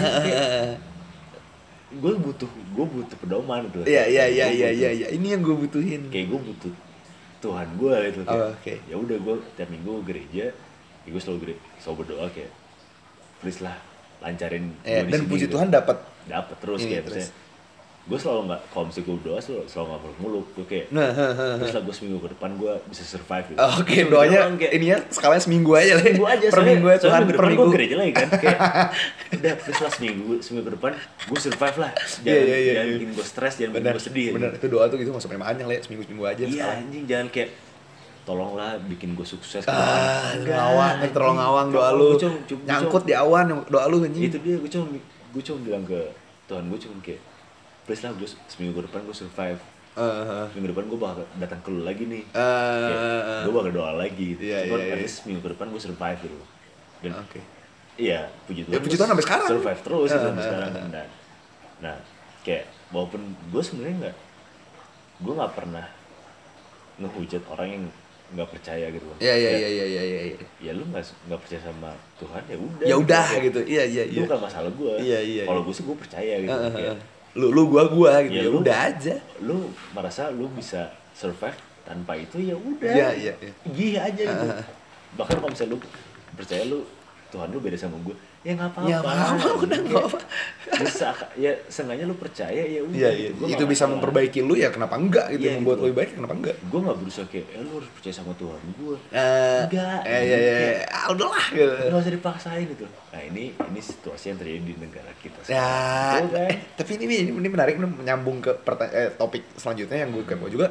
Gue butuh gue butuh pedoman gitu. Iya, iya, iya, Gua iya, butuh- iya, iya. Ini yang gue butuhin. Kayak gue butuh Tuhan gue gitu kayak. Oh, oke. Ya udah gue tiap minggu gereja, ya gue selalu gereja, selalu berdoa kayak please lah lancarin Iya, gua di dan sini puji gitu. Tuhan dapat. Dapet terus Ini, kayak terus. terus gue selalu nggak, kalau misalnya gue berdoa selalu selalu nggak muluk-muluk gue kayak Nah, terus lah gue seminggu ke depan gue bisa survive gitu. oke, Terus doanya doang kayak, ininya sekalian seminggu aja lah. seminggu aja Per soalnya- minggu ya soalnya Tuhan, minggu per depan minggu. gue gereja lagi kan kayak udah please lah seminggu seminggu ke depan gue survive lah, jangan, Iya, iya, iya, jangan iya. bikin gue stres, jangan bikin Bener, gue sedih bener. gitu. Itu doa tuh gitu nggak sampai panjang lah ya, seminggu-seminggu aja Iya sekarang. anjing, jangan kayak tolonglah bikin gue sukses. Ah, Enggak, ngawang, anjing. terlalu ngawang doa Kalau lu. gua cuma- cuma- Nyangkut cuma- di awan doa lu anjing. itu dia, gue cuma gue cuma bilang ke Tuhan, gue cuma kayak please lah gue seminggu ke depan gue survive, Eh, minggu depan gue bakal datang ke lu lagi nih, eh, gue bakal doa lagi gitu. Iya, Cuman iya, at iya. least minggu ke depan gue survive gitu. Dan Oke. iya puji Tuhan, Ya, puji gua Tuhan sampai sekarang. survive terus gitu Eh, sampai eh, sekarang. eh. Nah, nah kayak walaupun gue sebenarnya nggak, gue nggak pernah ngehujat orang yang nggak percaya gitu kan. Iya, iya, Kayak, iya, iya, iya, iya, iya. ya lu nggak nggak percaya sama Tuhan ya udah. Ya udah Kayak, gitu. Iya, iya, itu iya. bukan masalah gue. Iya, iya, Kalau iya. gue sih gue percaya gitu. Eh, eh, Kayak, eh. Lu lu gua gua gitu. Ya, Ya lu- udah aja. lu merasa lu bisa survive tanpa itu ya udah. Iya, iya, iya. Gih aja gitu. Ah. Bahkan kalau misalnya lu percaya lu Tuhan lu beda sama gue, ya nggak apa-apa. Ya nggak apa-apa, udah nggak apa-apa. Bisa, ya seenggaknya lu percaya ya udah. Iya, iya. gitu. Gua Itu nggak bisa masalah. memperbaiki lu ya kenapa enggak gitu, Iya, membuat gitu. lu lebih baik kenapa enggak? Gue nggak berusaha kayak, eh lu harus percaya sama Tuhan gue. Eh, Enggak. Eh, iya, iya, iya. Ah, udahlah gitu. Nggak usah dipaksain gitu. Nah ini ini situasi yang terjadi di negara kita. Ya, sekarang. Betul, kan? eh, tapi ini ini, ini menarik, ini menyambung ke perta- eh, topik selanjutnya yang gue kepo juga.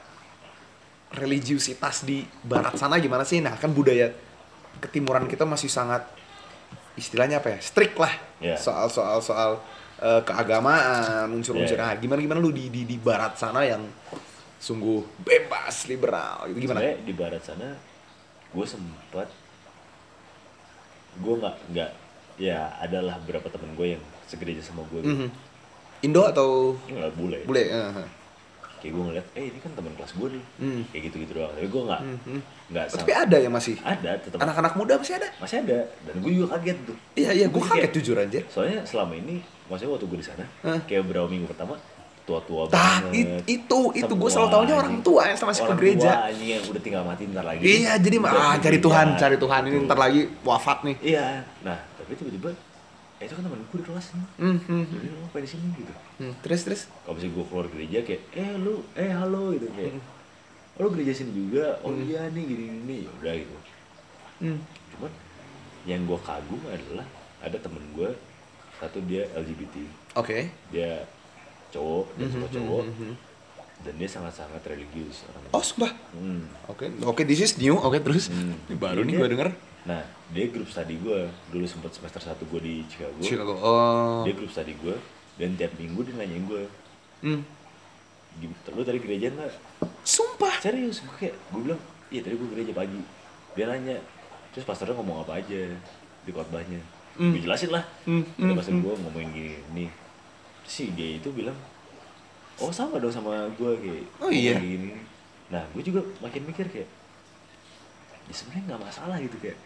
Religiusitas di barat sana gimana sih? Nah, kan budaya ketimuran kita masih sangat istilahnya apa ya? Strict lah. Iya. Soal soal soal eh, keagamaan, unsur-unsur. Iya. Nah, gimana gimana lu di di di barat sana yang sungguh bebas, liberal gitu gimana? Sebenarnya di barat sana gue sempat, gue nggak nggak ya adalah beberapa temen gue yang segereja sama gue gitu. Mhm. Indo atau Nggak bule. bule? Eh, eh. Kayak gue ngeliat, eh ini kan teman kelas gue nih. Hmm. Kayak gitu-gitu doang. Tapi gue nggak Mhm. nggak Oh, sama. tapi ada yang masih Ada tetap anak-anak muda masih ada. masih ada, dan gue juga kaget tuh. Iya iya, gue Gua kaget kayak- jujur aja. Soalnya selama ini, maksudnya waktu gue di sana, Hah? kayak beberapa minggu pertama tua-tua Tah, banget. it- itu itu gue Semua selalu tahunya orang anjing. tua yang masih ke Orang gereja. tua anjing yang udah tinggal mati ntar lagi. Iya, jadi Udah ah ke cari gereja, Tuhan, cari Tuhan ini gitu. ntar lagi wafat nih. Iya, nah tapi tiba-tiba, eh itu kan temen gue di kelas nih. Hmm, hmm, Jadi lu ngapain di sini gitu. hmm. Terus terus. Kalau misalnya gue keluar gereja kayak, eh lu, eh halo gitu kayak, oh, lu gereja sini juga, oh Hmm. iya nih gini gini, ya udah gitu. Hmm. Cuman yang gue kagum adalah ada temen gue satu, dia L G B T, Oke. dia cowok dan suka cowok, Hmm, hmm, hmm. dan dia sangat-sangat religius orang. Oh, sumpah. Hmm. Oke, oke, this is new. Oke, terus. Hmm. Ini baru nih Dia- gue denger. Nah, dia grup study gue dulu sempat semester satu gue di Chicago. Chicago. Oh. Dia grup study gue, dan tiap minggu dia nanyain gue, Hmm. "Gim- lu tadi gereja nggak?" Sumpah. Serius, gue kayak, gue bilang, iya tadi gue gereja pagi. Dia nanya, terus pastornya ngomong apa aja di khotbahnya. Hmm. Gue jelasin lah. Hmm, Ada hmm, pastor hmm. gue ngomongin gini, nih. Terus si dia itu bilang, oh sama dong sama gue kayak. Oh, iya. ngomong Gini. Nah, gue juga makin mikir kayak, ya sebenarnya nggak masalah gitu kayak.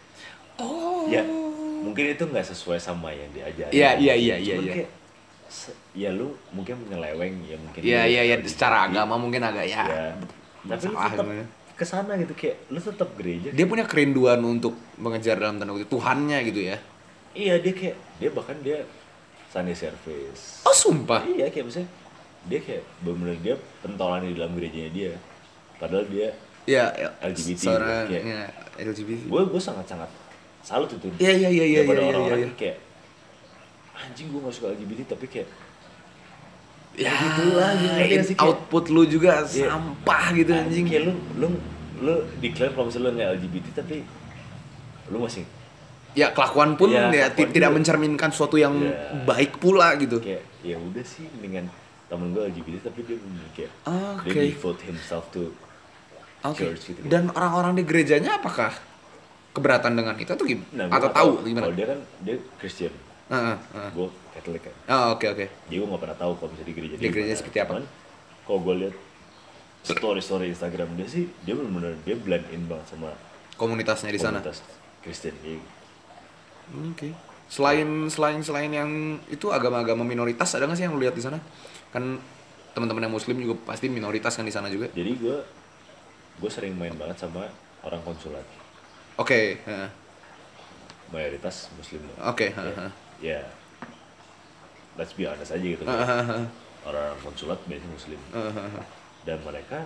Oh. Ya mungkin itu nggak sesuai sama yang diajarin. Iya, iya, iya, Cuman iya, iya. kayak, se- ya lu mungkin menyeleweng ya mungkin. Iya, lu iya, iya, L G B T. secara agama mungkin agak ya. Ya, tapi lu Salah tetap gimana. kesana gitu kayak lu tetap gereja. Dia punya kerinduan untuk mengejar dalam tanda kutip Tuhannya gitu ya. Iya dia kayak dia bahkan dia Sunday service. Oh, sumpah. Iya kayak misalnya dia kayak bener-bener dia pentolan di dalam gerejanya dia. Padahal dia Iya, ya, L G B T seorang kayak- ya, L G B T. gue gue sangat-sangat salut itu. Iya, iya, iya, iya, Daripada iya, iya, orang-orang iya. yang kayak anjing gue gak suka L G B T tapi kayak Ya, gitulah, gitu, ngerti gak sih, kayak- output lu juga Iya. sampah gitu anjing. kayak lu lu lu declare kalau misalnya lu nggak L G B T tapi lu masih Ya kelakuan pun Ya, ya, ti- kelakuan tidak juga. mencerminkan sesuatu yang Ya. baik pula gitu. kayak ya udah sih mendingan temen gue L G B T tapi dia bener kayak Oke. dia devote himself to Oke. church gitu. Dan orang-orang di gerejanya apakah keberatan dengan itu atau gimana? Nah, gua atau nggak tahu tahu. gimana? Kalau dia kan dia Christian, Heeh, heeh. gue Katolik kan. Oh, oke oke. Jadi gue gak pernah tahu kalau misalnya di gereja Di gereja gimana. seperti apa? Cuman kalau gue lihat story-story Instagram dia sih dia benar-benar dia blend in banget sama Komunitasnya di sana. komunitas Kristen. Iya. Oke. Selain selain selain yang itu agama-agama minoritas ada nggak sih yang lu lihat di sana? Kan teman-teman yang muslim juga pasti minoritas kan di sana juga. Jadi gue gue sering main banget sama orang konsulat, Oke, heeh. mayoritas muslim. Oke, Ya, heeh. ya let's be honest aja gitu. Heeh, heeh, Orang konsulat biasanya muslim heeh, heeh. dan mereka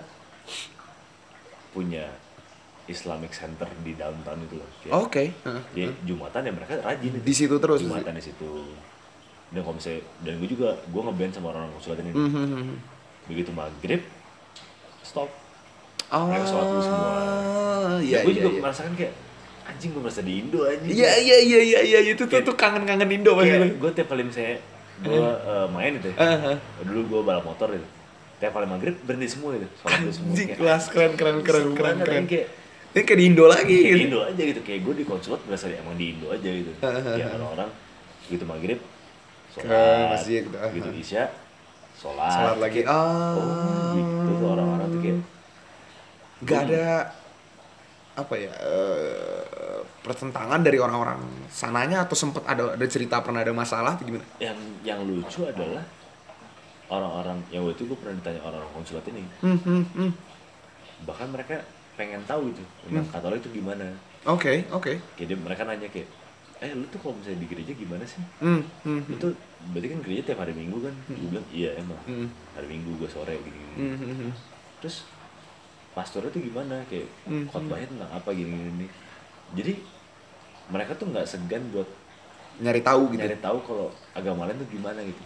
punya Islamic Center di downtown itu loh. Kayak Oke, heeh. Jadi Jumatan ya mereka rajin itu. Di situ terus. Jumatan di situ. Dan kalau misalnya, dan gue juga gue ngeband sama orang-orang konsulat ini. Mhm. Begitu maghrib, stop. Oh, Mereka sholat dulu semua. iya, Dan gue iya, juga iya. merasakan kayak anjing gue merasa di Indo anjing. Iya, iya, iya, iya, iya, itu tuh Kayak- tuh kangen-kangen Indo pasti. Kayak gue tiap kali misalnya gue eh, main itu. ya. Uh-huh. Dulu gue balap motor itu. Tiap kali maghrib berhenti semua itu. Sholat dulu semua. Anjing, Kayak, kelas keren keren keren seru keren banget, keren. anjing, kayak Ini kayak di Indo lagi kayak gitu. di Indo aja gitu. Kayak gue di konsulat berasa emang di Indo aja gitu. Kayak orang-orang gitu maghrib sholat, Ke masjid gitu. gitu isya sholat, Salat lagi. Kayak, Ah. oh gitu tuh orang-orang tuh kayak Gak ada apa ya eh, pertentangan dari orang-orang sananya atau sempet ada ada cerita pernah ada masalah atau gimana? yang yang lucu adalah orang-orang yang waktu itu gue pernah ditanya orang-orang konsulat ini, Hmm, hmm, hmm. bahkan mereka pengen tahu itu tentang Katolik itu gimana. Oke, oke. Kayak dia, mereka nanya kayak, eh lu tuh kalau misalnya di gereja gimana sih? Hmm, hmm, Lu tuh berarti kan gereja tiap hari Minggu kan? Gue bilang iya emang Hmm. hari Minggu gue sore gini, gini. hmm, hmm, hmm. Terus pastornya tuh gimana kayak Hmm. khotbahnya tentang apa gini gini. Jadi mereka tuh nggak segan buat Nyari tahu gitu. nyari tahu kalau agama lain tuh gimana gitu.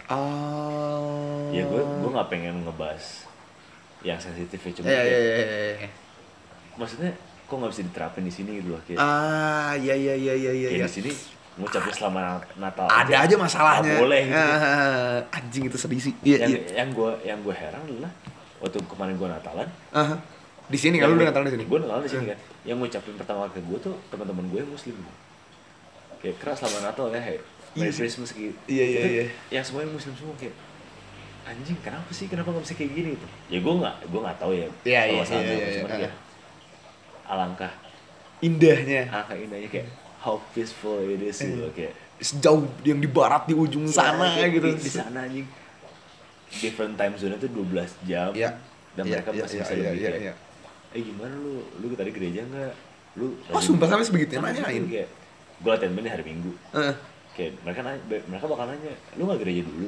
Ah. Ya gue gue nggak pengen ngebahas yang sensitifnya cuma Iya, kayak, iya, iya, iya, iya. maksudnya kok nggak bisa diterapin di sini gitu loh kayak, Ah, iya, iya, iya, iya, iya. kayak iya. di sini ngucapin selamat Natal Ada aja masalahnya. nggak boleh gitu. Ah, anjing itu sedih sih. Iya, yang iya. yang gue yang gue heran adalah waktu kemarin gue Natalan Aha. Di sini kan lu udah Natalan di sini. gue Natalan di sini kan yang ngucapin pertama ke gue tuh teman-teman gue yang muslim gitu. Kayak keras selamat Natal ya hey Merry Iya. Christmas gitu. Iya, iya, Itu iya. yang semuanya muslim semua kayak anjing kenapa sih kenapa nggak bisa kayak gini gitu ya gue nggak gue nggak tahu ya Iya, iya, permasalahan iya, apa, iya, cuman iya. kayak alangkah Indahnya. alangkah indahnya kayak how peaceful it is gitu loh, kayak Sejauh yang di barat di ujung sana kayak gitu. di, di sana anjing different time zone itu dua belas jam Iya. dan Iya, mereka iya, masih iya, bisa iya, lebih iya, kayak iya. eh gimana lu lu tadi gereja nggak lu Oh, rajin- sumpah sampai sebegitu Sampai nanyain. segitu, kayak gue latihan band di hari Minggu Heeh. kayak mereka nanya, mereka bakal nanya lu nggak gereja dulu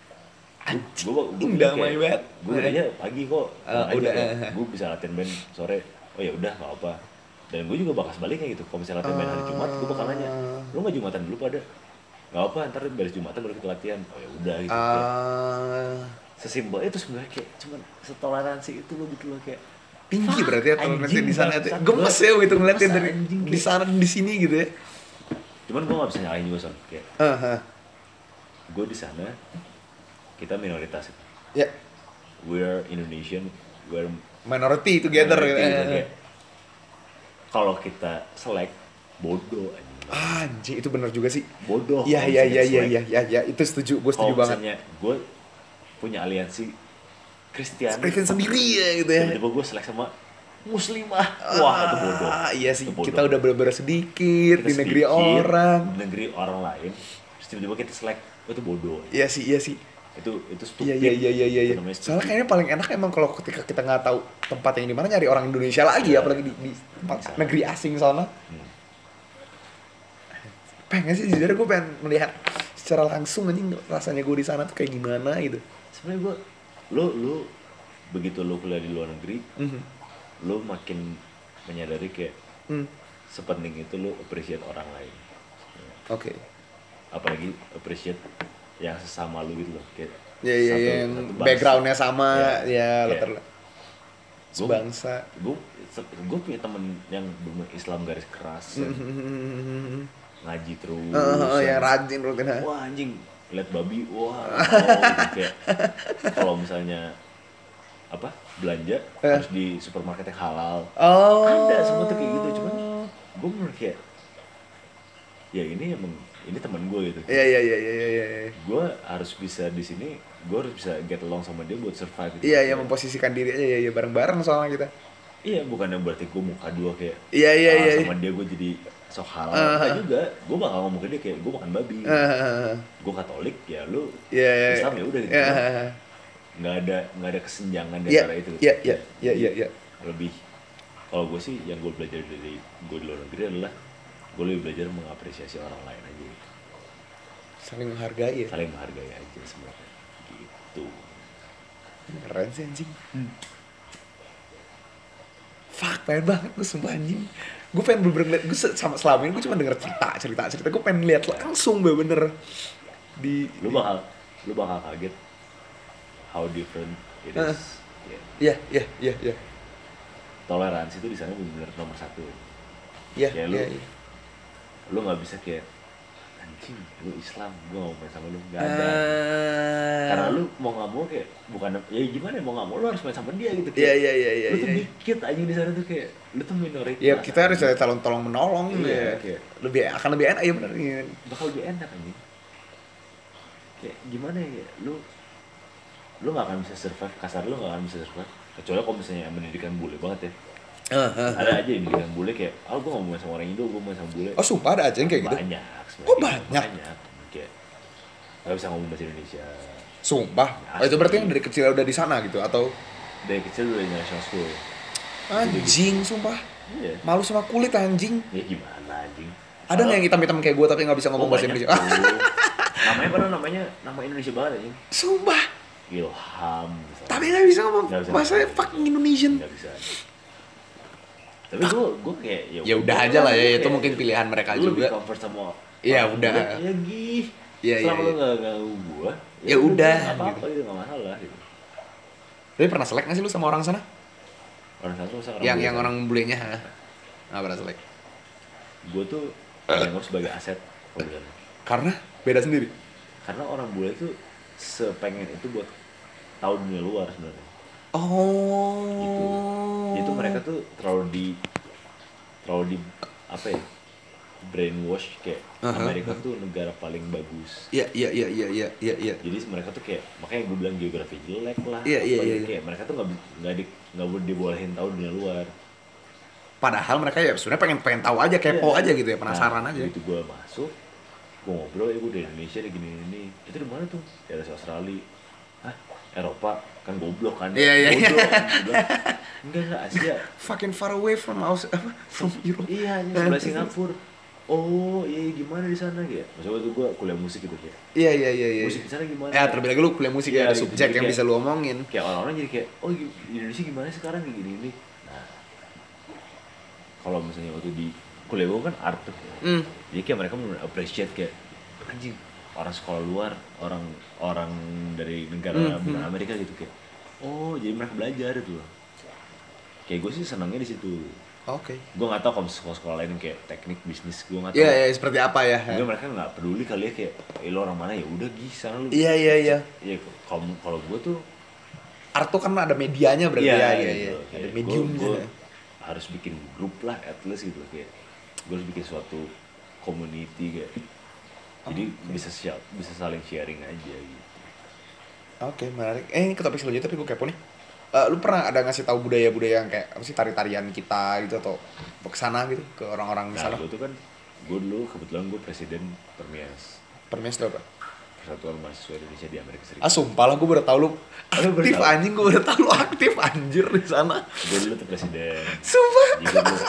gue gue damai banget. gue gereja pagi kok Ah, udah, eh. gue bisa latihan band sore oh ya udah nggak apa dan gue juga bakal sebaliknya gitu kalau misalnya latihan band hari Jumat gue bakal nanya lu nggak Jumatan dulu pada nggak apa ntar beres Jumatan baru kita latihan oh ya udah gitu Kayak Ah, sesimpel itu sebenarnya kayak cuman setoleransi itu lo gitu loh kayak tinggi berarti ya toleransi anjing, di sana tuh. bangsat. Gemes ya gitu ngeliatin Masa dari anjing, di kayak- sana dan di sini gitu ya. cuman gue nggak bisa nyalain juga son kayak Aha. gue di sana kita minoritas Ya, we're Indonesian we're minority together minority gitu. gitu, kayak kalau kita selek bodoh anjing Anjing itu benar juga sih. bodoh Iya kalau iya misalnya iya iya selek. iya iya ya, itu setuju, gue setuju kalau banget. misalnya gue punya aliansi Kristen Kristen sendiri ya gitu ya. tiba-tiba gue selek sama muslimah. Wah, itu bodoh. Ah, iya sih, Itu bodoh. kita udah bener-bener sedikit Kita di negeri sedikit, orang. di negeri orang lain. Terus tiba-tiba kita selek, oh, itu bodoh. Iya sih, iya sih. Itu itu stupid. Iya iya iya iya iya. Itu namanya Soalnya stupid. kayaknya paling enak emang kalau ketika kita nggak tahu tempat yang di mana nyari orang Indonesia lagi Iya. apalagi di, di tempat Bisa. negeri asing sana. Hmm. Pengen sih jujur gue pengen melihat secara langsung anjing rasanya gue di sana tuh kayak gimana gitu. Sebenarnya gua lu lu begitu lu kuliah di luar negeri, Mhm. lu makin menyadari kayak Hmm. sepenting itu lu appreciate orang lain. Oke. Apalagi appreciate yang sesama lu gitu loh, kayak Ya ya satu- yang satu bangsa. backgroundnya sama Ya, ya kayak latar sebangsa. gue gue punya temen yang bener Islam garis keras, yang Mhm. ngaji terus, Heeh, yang yang- rajin rutin ha. wah anjing lihat babi, wah wow, gitu. Kayak kalau misalnya apa belanja Eh. harus di supermarket yang halal, Oh. ada semua tuh kayak gitu. Cuman gue menurut kayak ya ini emang ini teman gue gitu. Iya iya iya iya iya iya. Gue harus bisa di sini, gue harus bisa get along sama dia buat survive gitu. Iya iya Kayak, memposisikan diri aja ya, ya bareng-bareng soalnya kita. iya bukannya berarti gue muka dua kayak Iya iya ah, iya. sama dia gue jadi sok halal. Uh-huh. Enggak juga, gue bakal ngomong ke dia kayak gue makan babi. Heeh. Gue Katolik ya lu Iya iya. Islam ya udah gitu. Iya. Nggak ada nggak ada kesenjangan di Iya antara itu. iya iya iya iya iya. Lebih kalau gue sih yang gue belajar dari gue di luar negeri adalah gue lebih belajar mengapresiasi orang lain aja gitu. Saling menghargai ya. Saling menghargai aja sebenarnya gitu. Keren sih anjing. Fuck, pengen banget gue sumpah anjing. Gue pengen bener-bener liat, gue se- sama selama ini gue cuma denger cerita, cerita, cerita. Gue pengen lihat langsung bener-bener di... Lu bakal lu bakal kaget how different it Uh. is. Ya. Iya, iya, iya, iya. Toleransi itu di sana benar-benar nomor satu. Iya, Kayak lu iya, iya. lu nggak bisa kayak anjing lu Islam gue nggak mau main sama lu, nggak ada. Eh, Karena lu mau nggak mau kayak bukan ya gimana ya, mau nggak mau lu harus main sama dia gitu. Iya, Kayak, iya, iya, iya. lu tuh iya. dikit aja di sana tuh kayak lu tuh minoritas. Ya kita harus anjing. ada calon tolong menolong Iya, ya. kayak- Lebih akan lebih enak ya bener ya. Bakal lebih enak anjing. Kayak gimana ya, lu lu nggak akan bisa survive, kasar lu nggak akan bisa survive kecuali kalau misalnya pendidikan bule banget ya. Ada aja yang pendidikan bule kayak oh gue nggak mau main sama orang Indo, gue mau main sama bule. Oh sumpah ada aja yang kayak gitu? Banyak sebenarnya. Oh, banyak? Banyak kayak nggak bisa ngomong bahasa Indonesia. Sumpah? Oh, itu berarti yang dari kecil udah di sana gitu? Atau? Dari kecil udah di national school. Anjing sumpah. Iya. Malu sama kulit anjing. Ya gimana anjing? Ada nggak yang hitam-hitam kayak gue tapi nggak bisa ngomong Oh, bahasa banyak Indonesia? tuh. Namanya padahal namanya nama Indonesia banget anjing. Sumpah. Ilham misalnya. Tapi nggak bisa ngomong Nggak bisa bahasa ngomong. fucking Indonesian. Nggak bisa. Tapi gue gue kayak Ya udah aja lah ya, Gua itu kayak- mungkin pilihan mereka lu lebih juga. comfort sama Iya, orang udah. bule, ya gih. Iya, iya, Selama lu iya. nggak ganggu gue, Ya udah, nggak apa-apa gitu. gitu, nggak masalah gitu. Tapi pernah selek nggak sih lu sama orang sana? Orang satu masa yang yang orang bulenya ha? Nggak pernah selek. gue tuh dianggap sebagai aset kalau di sana. Karena beda sendiri. Karena orang bule tuh sepengen itu buat tahu dunia luar sebenarnya. Oh. Gitu. Itu mereka tuh terlalu di terlalu di apa ya? Brainwash kayak Aha, Amerika tuh negara paling bagus. Iya iya iya iya iya iya iya. Jadi mereka tuh kayak makanya gue bilang geografi jelek lah. Iya, iya, apa iya, gitu. iya. Kayak mereka tuh nggak bi- nggak di nggak boleh dibolehin tahu dunia luar. Padahal mereka ya sebenarnya pengen pengen tahu aja, kepo Iya. aja gitu ya, penasaran Nah, aja. Begitu gue masuk, gue ngobrol ya gue dari Indonesia deh gini ini. Itu di mana tuh? Daerah Australia. Hah? Eropa kan goblok kan? Iya, iya, iya. Goblok. Gua bilang, enggak enggak Asia. Fucking far away from Aus apa from Europe. Iya, ini sebelah Singapura. Oh, iya gimana di sana gitu. Maksudnya tuh gue kuliah musik gitu kayak. Iya iya iya iya. Musik di sana gimana? Ya terlebih lagi lu kuliah musik Iya, ya, ada gitu. subjek Jadi yang kayak- bisa lu omongin. Kayak orang-orang jadi kayak, oh di Indonesia gimana sekarang kayak gini ini. Nah, kalau misalnya waktu di kuliah gue kan art tuh. Hmm. Jadi kayak mereka benar appreciate kayak anjing orang sekolah luar, orang orang dari negara Hmm, bukan hmm. Amerika gitu kayak. Oh, jadi mereka belajar itu loh. Kayak gue sih senangnya di situ. Oke. Gue nggak tahu kalau sekolah-sekolah lain kayak teknik bisnis gue nggak tahu. Iya iya seperti apa ya? Mungkin mereka nggak peduli kali ya kayak, eh, lo orang mana ya udah gih sana lu. Iya iya iya. Iya kalau kalau gue tuh Art tuh kan ada medianya berarti ya, iya iya. gitu. Ada Kayak mediumnya. gua- gua harus bikin grup lah at least gitu kayak gue harus bikin suatu community kayak jadi Oke. bisa share, bisa saling sharing aja gitu. Oke, menarik. Eh, ini ke topik selanjutnya tapi gue kepo nih. uh, lu pernah ada ngasih tahu budaya-budaya yang kayak apa sih tari-tarian kita gitu atau ke sana gitu ke orang-orang di Nah, sana? gue tuh kan, gue dulu kebetulan gue presiden Permias, Permias itu apa? Persatuan Mahasiswa Indonesia di Amerika Ah Serikat. sumpah lah gue baru tahu lu Lu baru aktif tahu? anjing, gue baru tahu lu aktif anjir di sana. Gue dulu tuh presiden. Sumpah Jadi gue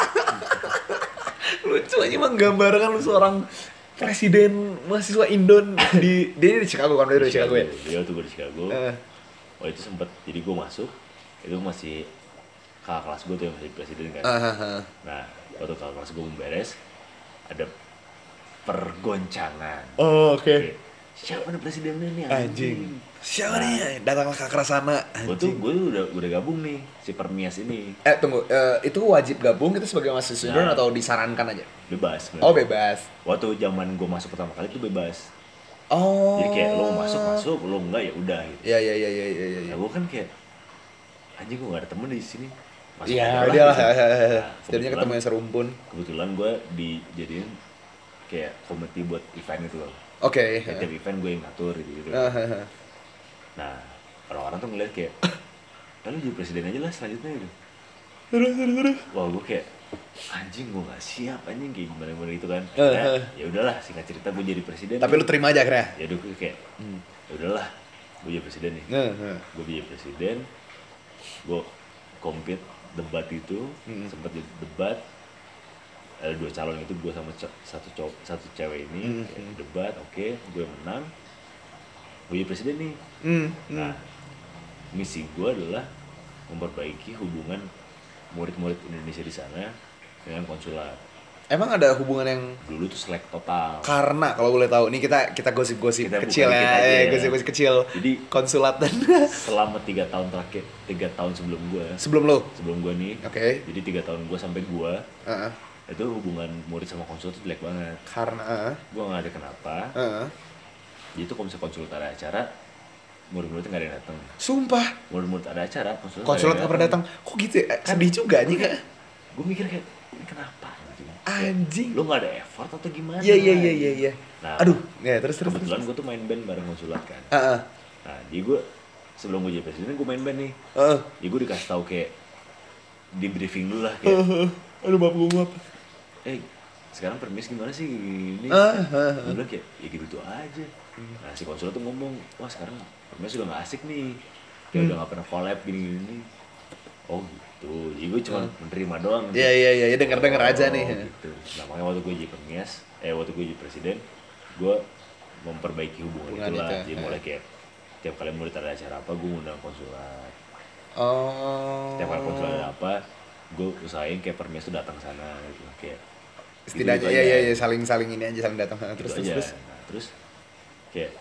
lucu aja menggambarkan lu seorang presiden mahasiswa Indon di dia di Chicago kan, dia di di Chicago ya. Dia tuh gue di Chicago. Eh. Oh itu sempet, jadi gue masuk, itu masih kakak kelas gue tuh yang masih presiden kan. Ah, ah, ah. Nah, waktu kakak kelas gue memberes, ada pergoncangan. Oh, oke. Kayak, siapa nih presidennya nih Anjing. Siapa Nah. nih? Datanglah ke Akrasana. Gue tuh, gue tuh udah, udah gabung nih, si Permias ini. Eh tunggu, eh, itu wajib gabung kita sebagai mahasiswa Indon Nah. atau disarankan aja? Bebas. Oh sebenarnya. bebas. Waktu zaman gue masuk pertama kali itu bebas. Oh. Jadi kayak lo mau masuk masuk, lo enggak ya udah gitu. Iya iya iya iya iya. Nah iya. gue kan kayak, anjing gue gak ada temen di sini. Masuk Iya, aja udah lah. gitu. Nah, Jadinya kebetulan- ketemu yang serumpun. Kebetulan gue dijadiin kayak komite buat event gitu loh. Oke. Kayak tiap event gue yang ngatur gitu gitu. Ah, ah, ah. Nah orang-orang tuh ngeliat kayak, "Ah, lu jadi presiden aja lah selanjutnya gitu." Wah gue kayak, anjing gue gak siap anjing kayak gimana gimana gitu kan. Eh, Nah, eh. ya udahlah singkat cerita gue jadi presiden. Tapi lu terima aja akhirnya. Ya udah gue kayak, Hmm. ya udahlah gue jadi presiden nih. Nah, nah. Gue jadi presiden, gue compete debat itu, Hmm. sempat jadi debat. Ada dua calon itu, gue sama co- satu cowok satu cewek ini Hmm. kayak debat, oke gue menang, gue jadi presiden nih. Hmm. Nah hmm. misi gue adalah memperbaiki hubungan murid-murid Indonesia di sana dengan konsulat. Emang ada hubungan yang Dulu tuh selek total. karena kalau boleh tahu nih kita kita gosip-gosip Kita kecil buka dikit ya, aja eh, ya. gosip-gosip kecil. Jadi Konsulat dan selama tiga tahun terakhir, tiga tahun sebelum gue, sebelum lo. sebelum gue nih, Oke. jadi tiga tahun gue sampai gue, Heeh. itu hubungan murid sama konsul tuh jelek banget. Karena heeh. Gue nggak ada kenapa. Heeh. Jadi itu kalau misalnya konsul ada acara, murid-muridnya nggak ada yang datang. Sumpah. Murid-murid ada acara, konsul Konsulat nggak pernah datang. Kok gitu ya? Eh, Sedih juga nih kak. Gue mikir kayak, ini kenapa? Anjing. Anjing. Lo nggak ada effort atau gimana? Iya iya iya iya iya. Nah, Aduh, ya terus terus. kebetulan gue tuh main band bareng konsulat kan. Heeh. Nah, jadi gue sebelum gue jadi presiden gue main band nih. Heeh. Jadi gue dikasih tahu kayak di briefing dulu lah kayak, Aduh maaf gue maaf. eh sekarang permis gimana sih ini? Ah, ah, Gue bilang kayak, ya gitu aja. Nah si konsulat tuh ngomong, wah sekarang permis udah gak asik nih, kayak Hmm. udah gak pernah collab gini-gini. Oh gitu, jadi gue cuma menerima doang. Iya iya iya, denger-denger aja nih. Oh, gitu. Nah makanya waktu gue jadi permis, eh waktu gue jadi presiden, gue memperbaiki hubungan, Hubungan itulah. itu, Jadi ya. mulai kayak tiap kali murid ada acara apa, gue ngundang konsulat. Oh. Tiap kali konsulat ada apa, gue usahain kayak permis tuh datang ke sana gitu. Kayak Setidaknya gitu-gitu iya aja. iya iya saling saling ini aja saling datang. Terus Gitu terus aja. terus. Nah, terus kayak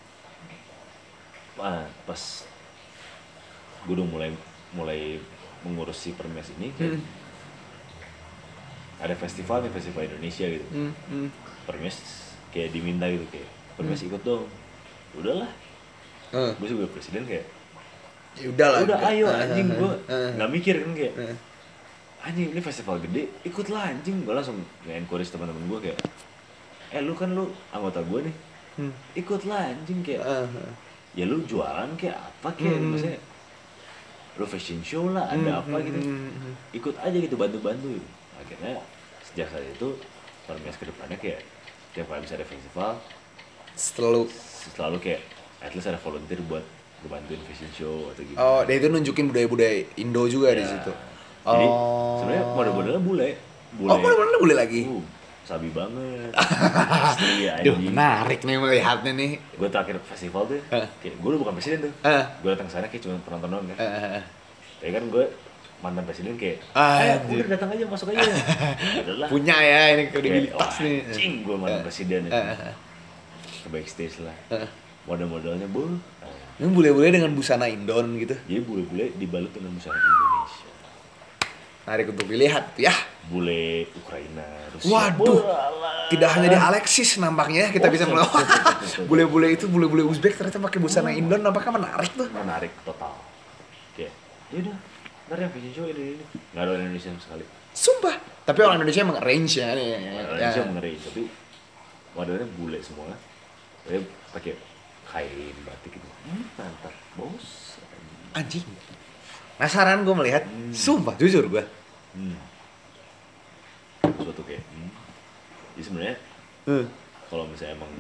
ah, pas gue udah mulai mulai mengurus si permes ini kayak Hmm. ada festival nih, festival Indonesia gitu. Hmm, hmm. Permes kayak diminta gitu kayak permes ikut dong. Udahlah, Eh, gue sebagai presiden kayak ya udah lah. udah ayo Eh, anjing, eh, gue eh, nggak mikir kan kayak eh. anjing ini festival gede, ikutlah anjing. Gue langsung nge-encourage teman-teman gue kayak, eh lu kan lu anggota gue nih, Hmm. ikutlah anjing kayak Eh, eh. ya lu jualan kayak apa kayak Hmm. maksudnya lu fashion show lah ada Hmm, apa hmm, gitu, hmm, hmm. ikut aja gitu, bantu-bantu gitu. Akhirnya sejak saat itu Permias ke depannya kayak tiap kali bisa ada festival Selalu. selalu kayak at least ada volunteer buat ngebantuin fashion show atau gitu. Oh, dia itu nunjukin budaya-budaya Indo juga di Ya. situ. Jadi Oh. sebenarnya model-modelnya bule bule Oh, mana-mana boleh lagi. Uh, sabi banget. Asli Duh, anjing. menarik nih melihatnya nih. Gue terakhir festival tuh, Eh. kayak gue bukan presiden tuh. Eh. Gue datang sana kayak cuma penonton doang kan. Eh, eh, eh. Tapi kan gue mantan presiden kayak, Ah, eh anjir. udah datang aja masuk aja. Adalah. Punya ya ini Kayak, kredibilitas wah, nih. Cing, gue mantan Eh. presiden Eh, itu. eh, eh. Ke backstage lah. Eh. Model-modelnya bu. Ini bule-bule dengan busana Indon gitu. Jadi bule-bule dibalut dengan busana Indonesia. Menarik untuk dilihat ya. Bule Ukraina, Rusia. Waduh. Walah. Tidak hanya di Alexis nampaknya ya, kita Oh, bisa betul, melawan. betul, betul, betul. Bule-bule itu bule-bule Uzbek ternyata pakai busana Indon, nampaknya menarik tuh. Menarik total. Kayak, yaudah, ntar ya fashion show ini ini. Nggak ada orang Indonesia sama sekali. Sumpah. Tapi orang Indonesia emang arrange ya nih. Orang Ya. Indonesia mengeri, tapi modelnya bule semua. Dia pakai kain batik gitu. Hmm, mantap, bos. Anjing. Penasaran gue melihat, Hmm. sumpah jujur gue. Hmm. Suatu kayak, hmm. Jadi sebenarnya Hmm. kalau misalnya emang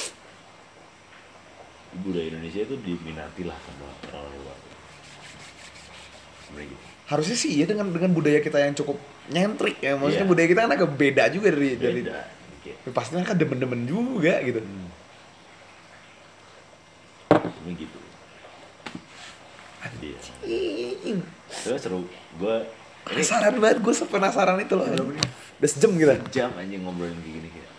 budaya Indonesia itu diminati lah sama orang luar. Sebenarnya gitu. Harusnya sih ya dengan dengan budaya kita yang cukup nyentrik ya. Maksudnya Iya. budaya kita kan agak beda juga dari dari Beda. Kayak, pasti mereka demen-demen juga gitu. hmm. Sebenarnya gitu. Iya. Ing. Terus seru. Gue ini Penasaran banget, gue sepenasaran itu loh. Udah sejam gitu. jam anjing ngobrolin kayak gini kayak.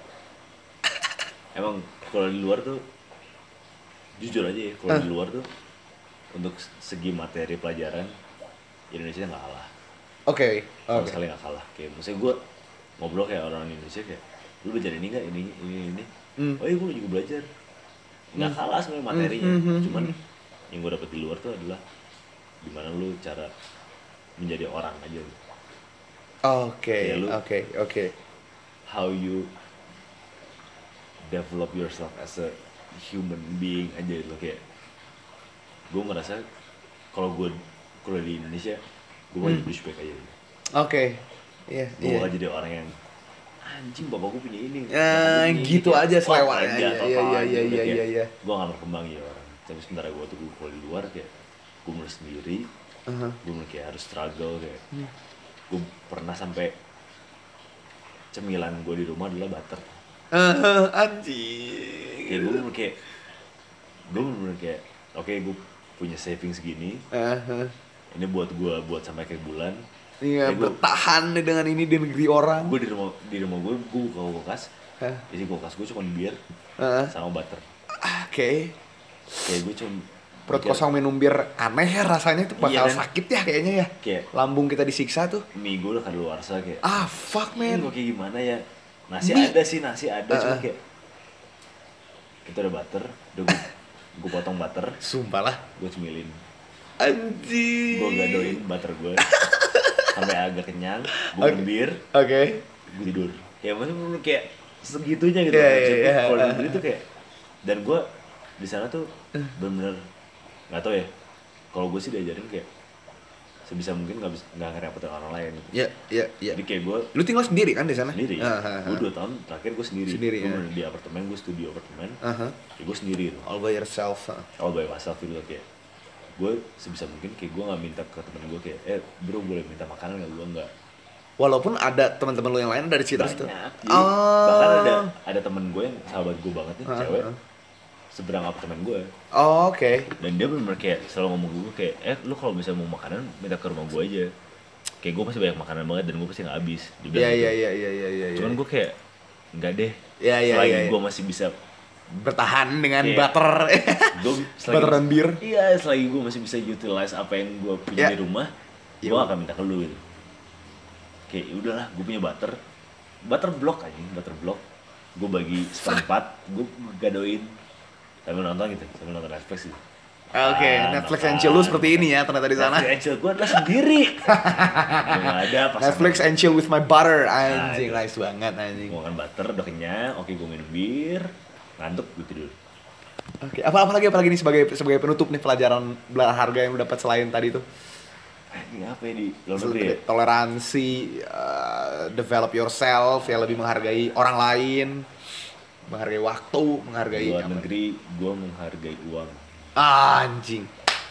Emang kalau di luar tuh jujur aja ya, kalau Ah. di luar tuh untuk segi materi pelajaran Indonesia nggak kalah. Oke. Sama Oke. sekali nggak kalah. Kayak misalnya gue ngobrol kayak orang Indonesia kayak, lu belajar ini nggak, ini ini ini. Hmm. Oh iya gue juga belajar. Nggak kalah sebenarnya materinya. Hmm, hmm, hmm, Cuman hmm. yang gue dapet di luar tuh adalah gimana lu cara menjadi orang aja. Oke, Kayak lu- oke, oke. How you develop yourself as a human being aja gitu kayak. Gue ngerasa kalau gue kalau di Indonesia gue mau Hmm. jadi douchebag aja gitu. Oke. Iya, Gue iya. bakal jadi orang yang anjing bapak gue punya ini. Ya, gitu aja selewanya. Iya, iya, iya, iya, iya, iya, iya. Gue gak berkembang ya orang. Tapi sementara gue tuh gue kalau di luar kayak gue mulai sendiri, Uh-huh. gue mulai kayak harus struggle kayak. Hmm. Gue pernah sampai cemilan gue di rumah adalah butter. Uh, anjing. Kayak gue bener kayak gue bener kayak oke gue punya saving segini. Uh-huh. Ini buat gue buat sampai akhir bulan. Iya, Kayak gua- bertahan nih dengan ini di negeri orang. Gue di rumah di rumah gue gue buka kulkas. Hah? Isi kulkas gue cuma bir Uh-huh. sama butter. Oke. Kayak gue cuma Perut mikir, kosong minum bir aneh ya rasanya tuh bakal Iya kan? sakit ya kayaknya ya. Kayak Lambung kita disiksa tuh. mie gue udah kadaluarsa kayak. Ah, fuck Ini man. gue kayak gimana ya? Nasi Mie. ada sih, nasi ada cuma Uh-uh. kayak itu ada butter, udah gue, gue potong butter, Sumpah lah. gue cemilin, Anjing. gue gadoin butter gue sampai agak kenyang, gue Oke. minum bir, Oke. gue tidur. Kayak maksudnya kayak segitunya gitu. Iya, iya, Maksud gue iya. kalau di negeri tuh kayak dan gue di sana tuh bener-bener nggak tau ya. Kalau gue sih diajarin kayak sebisa mungkin nggak bisa nggak ngerepotin orang lain gitu. Ya, ya, ya. Jadi kayak gue Lu tinggal sendiri kan di sana? sendiri, Ah, ah, gue ah. dua tahun terakhir gue sendiri, Sendiri, gue ya. bener di apartemen, gue studio apartemen, Aha. ya gue sendiri gitu. All by yourself. ah. All by myself gitu kayak gue sebisa mungkin kayak gue nggak minta ke temen gue kayak eh bro boleh minta makanan nggak, gue nggak. Walaupun ada teman-teman lu yang lain dari situ situ. Banyak, jadi Oh. bahkan ada ada temen gue yang sahabat gue banget nih, Ah, cewek ah. seberang apartemen gue, Oh, oke. dan dia bener-bener kayak selalu ngomong ke gue kayak eh lu kalau misalnya mau makanan minta ke rumah gue aja, kayak gue pasti banyak makanan banget dan gue pasti nggak habis. Dia bilang Iya, gitu. iya, iya, iya, iya, iya. Cuman gue kayak nggak deh, Iya, iya, selagi iya, iya. gue masih bisa bertahan dengan Iya. butter. gue Butter dan bir. iya selagi gue masih bisa utilize apa yang gue punya Iya. di rumah, Iya. gue akan minta ke lu gitu. Kayak "Ya udahlah gue punya butter butter block aja butter block gue bagi seperempat gue gadoin sambil nonton gitu sambil nonton Netflix gitu. Oke, Ah, Netflix makan. and chill lu seperti ini ya ternyata di sana. Netflix and chill gue adalah sendiri. Gue nggak ada pas Netflix and chill with my butter. Nah, Anjing, itu. nice banget anjing. gue makan butter udah kenyang, oke gue minum bir, ngantuk gue tidur. Oke, apa apa lagi apa lagi nih sebagai sebagai penutup nih pelajaran berharga yang lu dapat selain tadi tuh? Ini apa ya di luar negeri ya? Toleransi, uh, develop yourself, ya lebih menghargai orang lain, menghargai waktu, Di menghargai luar apa? negeri gue menghargai uang. Ah, anjing.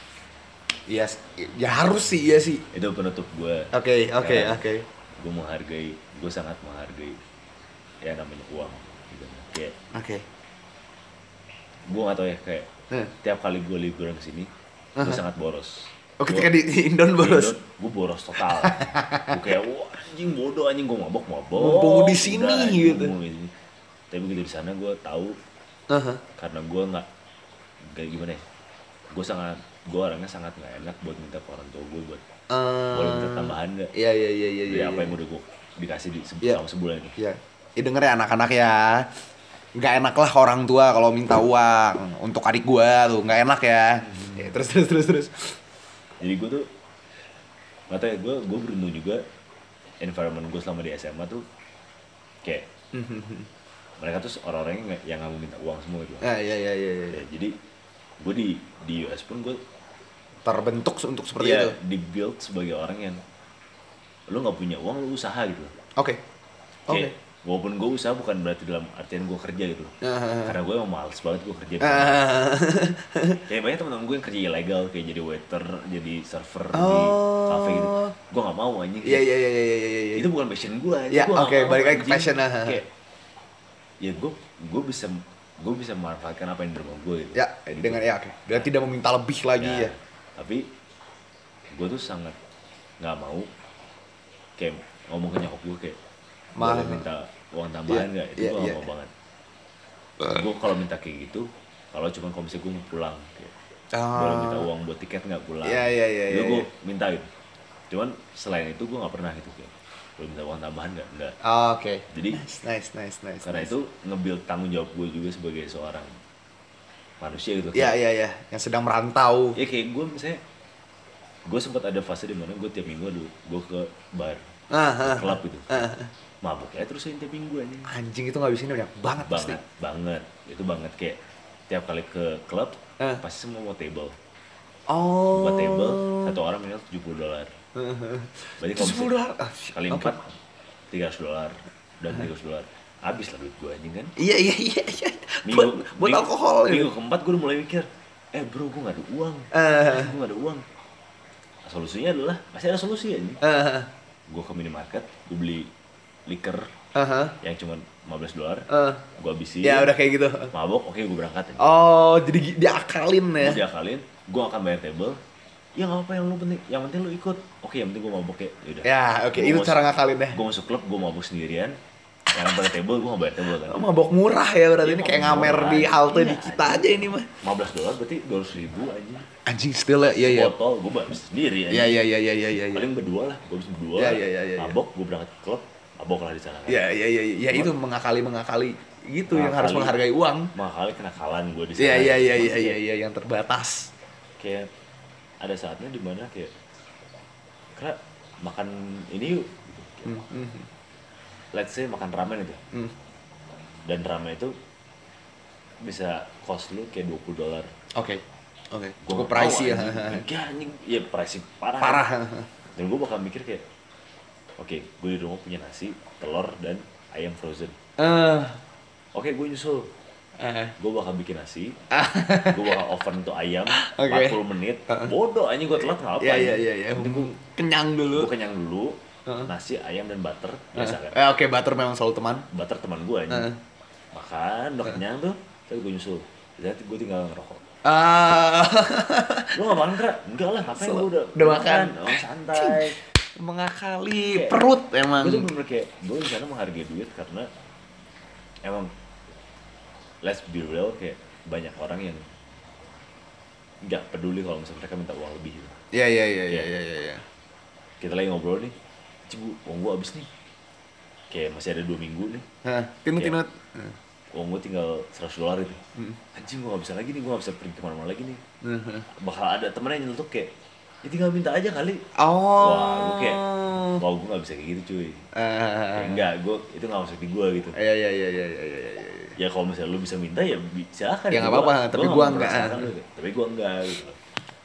Iya, s- ya harus sih, iya sih. Itu penutup gue. Oke, oke, Ya. oke. Gue menghargai, gue sangat menghargai ya namanya uang gitu. Kayak Oke. gue gak tau ya kayak Nah, tiap kali gue liburan kesini gue Aha. sangat boros. oh ketika di, di Indon boros. Gue boros total. Gue kayak wah anjing bodoh anjing gue mabok mabok. Mumpung di sini, Udah, anjing, gitu. mumpung di sini. Tapi begitu di sana gue tahu Aha. karena gue nggak kayak gimana ya. Gue sangat gue orangnya sangat nggak enak buat minta ke orang tua gue buat boleh minta tambahan nggak Iya, iya, iya, iya, dari iya. apa yang udah gue dikasih di se- Iya. selama sebulan ini. Iya. Ya denger ya anak-anak ya. Nggak enak lah orang tua kalau minta uang untuk adik gua tuh, nggak enak ya. Ya, terus terus terus terus. Jadi gue tuh nggak tahu ya gue gue beruntung juga environment gue selama di S M A tuh kayak mereka tuh orang-orang yang nggak- yang nggak mau minta uang semua gitu. Ah, iya iya iya iya. Ya, jadi gue di di U S pun gue terbentuk untuk seperti Iya, itu. di-build sebagai orang yang lu nggak punya uang, lu usaha gitu. Oke. Oke. Kayak, walaupun gue usaha bukan berarti dalam artian gue kerja gitu. Uh, Karena gue emang males banget gue kerja. uh, Kayak banyak teman-teman gue yang kerja ilegal, kayak jadi waiter, jadi server di Oh. cafe gitu. Gue nggak mau anjing. Iya iya iya iya iya iya. Itu bukan passion gue. Ya, Gua nggak oke, mau, balik lagi ke anjing. passion, ah. Kayak, ya gue gue bisa gue bisa memanfaatkan apa yang di rumah gue gitu. Ya, Gitu. dengan ya oke. Dan tidak meminta lebih lagi ya. Tapi gue tuh sangat nggak mau kayak ngomong ke nyokap gue kayak Ma- boleh minta uang tambahan nggak? Iya, Itu gue iya, nggak mau iya. banget. Gue kalau minta kayak gitu, kalau cuma kalau misalnya gue mau pulang, kayak, Ah. boleh minta uang buat tiket nggak pulang? Iya, iya, iya, Itu iya, gue iya. minta gitu. Cuman selain itu gue nggak pernah gitu kayak boleh minta uang tambahan nggak? Nggak. Ah, oke. Jadi Nice nice nice nice. karena nice. itu nge-build tanggung jawab gue juga sebagai seorang manusia gitu. Iya Kayak, iya iya, yang sedang merantau. ya kayak gue misalnya gue sempat ada fase di mana gue tiap minggu dulu gue ke bar, Ah, ke ah, klub gitu, ah. mabuk ya terus tiap minggu anjing. Anjing itu ngabisinnya banyak banget pasti. Banget, banget, itu banget kayak tiap kali ke klub Eh. pasti semua mau table, Oh. buat table satu orang minimal tujuh puluh dolar. Berarti kalau sepuluh dolar. misalnya Ah, shit. kali Oke. empat tiga ratus dolar dan tiga ratus dolar, habis lah duit gue anjing kan. Iya iya iya iya. Buat Minggu, buat minggu- alkohol Minggu gitu. keempat gue udah mulai mikir, eh bro gue gak ada uang, Eh. gue gak ada uang. Solusinya adalah masih ada solusi anjing. Eh. Gue ke minimarket, gue beli liquor Aha. yang cuma lima belas dolar, Eh. gue habisin, Ya udah kayak gitu. mabok, oke gue berangkat aja. Oh, jadi gi- diakalin ya. Gue diakalin, gue akan bayar table. Ya nggak apa yang lu penting, yang penting lu ikut. Oke, yang penting gue mabok ya. Yaudah. Ya, oke, Gua itu masuk- cara ngakalin ya. Gue masuk klub, gue mabok sendirian. Yang pada table, gue nggak bayar table kan. Oh, mabok murah ya berarti Iya, ini kayak mabok ngamer murah. di halte Iya, di kita aja ini mah. lima belas dolar berarti dua ratus ribu aja. Anjing still ya, iya iya. Botol, gue bayar sendiri aja. Iya iya iya iya iya iya. Paling berdua lah, gue bisa berdua. Iya, iya, iya, iya, Mabok, gue berangkat ke klub, mabok lah di sana. kan. Iya iya iya iya itu mengakali mengakali gitu yang harus Mengakali. menghargai uang. Makanya kenakalan gue di sana. Iya iya iya iya Maksudnya iya iya yang terbatas. Kayak ada saatnya dimana kayak karena makan ini yuk, Hmm, hmm, let's say makan ramen itu, hmm. dan ramen itu bisa cost lu kayak dua puluh dolar. Oke. Oke. Gua Cukup nggak tahu, pricey ya. anjing. Enggak anjing, ya pricey parah. Parah. Dan gue bakal mikir kayak, oke, gue di rumah punya nasi, telur dan ayam frozen. Eh. Oke, gue nyusul. Eh. Gue bakal bikin nasi, gue bakal oven tuh ayam Oke. empat puluh menit. Bodoh, anjing gue telat ngapa? Iya iya iya iya. Kenyang dulu. Gue kenyang dulu, Heeh. nasi, ayam dan butter biasa kan. Eh oke, butter memang selalu teman. Butter teman gue anjing. Heeh. Makan, udah kenyang tuh, terus gue nyusul. Jadi gue tinggal ngerokok. Ah. Lu gak makan kera? Enggak lah, ngapain Sel- gue udah udah makan. Oh, santai. Mengakali Kayak- perut emang. Gue tuh bener kayak, gue di sana menghargai duit karena emang let's be real, kayak banyak orang yang nggak peduli kalau misalnya mereka minta uang lebih gitu. Iya iya iya iya iya iya. Kita lagi ngobrol nih, cibu, uang gue habis nih. Kayak masih ada dua minggu nih, Hah, tinut Kayak- tinut. uang gue tinggal seratus dolar itu. Hmm. Anjing gue gak bisa lagi nih, gue gak bisa pergi kemana-mana lagi nih. Heeh. Bakal ada temennya yang nyelutuk kayak, ya tinggal minta aja kali. Oh. Wah, gue kayak, wah gue gak bisa kayak gitu cuy. Kayak Eh. enggak, gue itu gak masuk di gue gitu. Iya iya iya iya iya iya. iya. Ya kalau misalnya lu bisa minta ya bi- silakan. Ya, nggak apa-apa, tapi gua enggak. mempermasalahkan lu, tapi gue enggak gitu loh.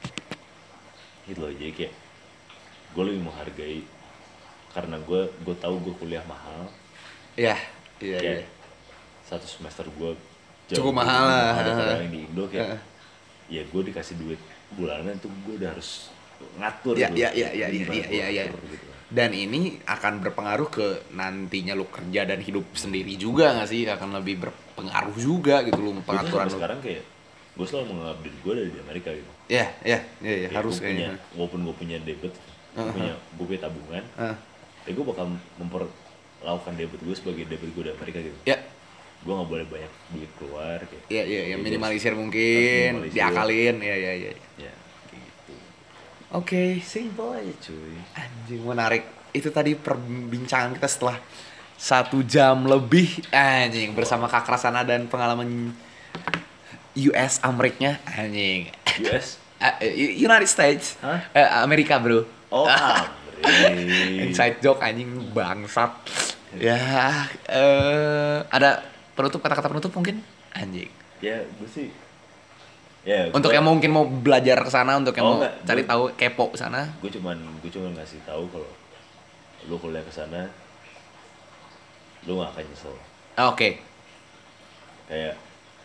Gitu loh, jadi kayak gue lebih menghargai karena gue gue tahu gue kuliah mahal. Iya iya Kayak iya. satu semester gue Cukup mahal lah. daripada yang di Indo kayak Heeh. ya gue dikasih duit bulanan tuh gue udah harus ngatur Iya tuh. iya iya iya Gimana iya gua iya iya. ngatur gitu. Dan ini akan berpengaruh ke nantinya lu kerja dan hidup sendiri juga nggak sih? Akan lebih berpengaruh juga gitu lu Gua tuh pengaturan sampai lu. sekarang kayak gue selalu menganggap diri gue dari Amerika gitu. Iya iya iya iya Kayak harus gua punya, kayaknya. walaupun gue punya debit, gue Uh-huh. punya gue punya tabungan, Heeh. tapi gue bakal memperlakukan debit gue sebagai debit gue dari Amerika gitu. Ya Gue nggak boleh banyak duit keluar kayak. iya iya ya Jadi minimalisir harus- mungkin, harus minimalisir. diakalin. Iya iya iya. Ya kayak gitu. Oke, Simple aja cuy. anjing menarik. Itu tadi perbincangan kita setelah satu jam lebih anjing bersama Kak Krasana dan pengalaman U S Ameriknya anjing. U S? Uh, United States. Hah? Eh, Amerika, Bro. Oh, Amri. Inside joke anjing bangsat. Ya, eh ada penutup kata-kata penutup mungkin anjing. Ya gue sih Ya, Untuk gua- yang mungkin mau belajar ke sana, untuk yang Oh, mau enggak, cari gua- tahu kepo ke sana. gue cuman gue cuman ngasih tahu kalau lu kuliah ke sana lu gak akan nyesel. Ah, Oke. Kayak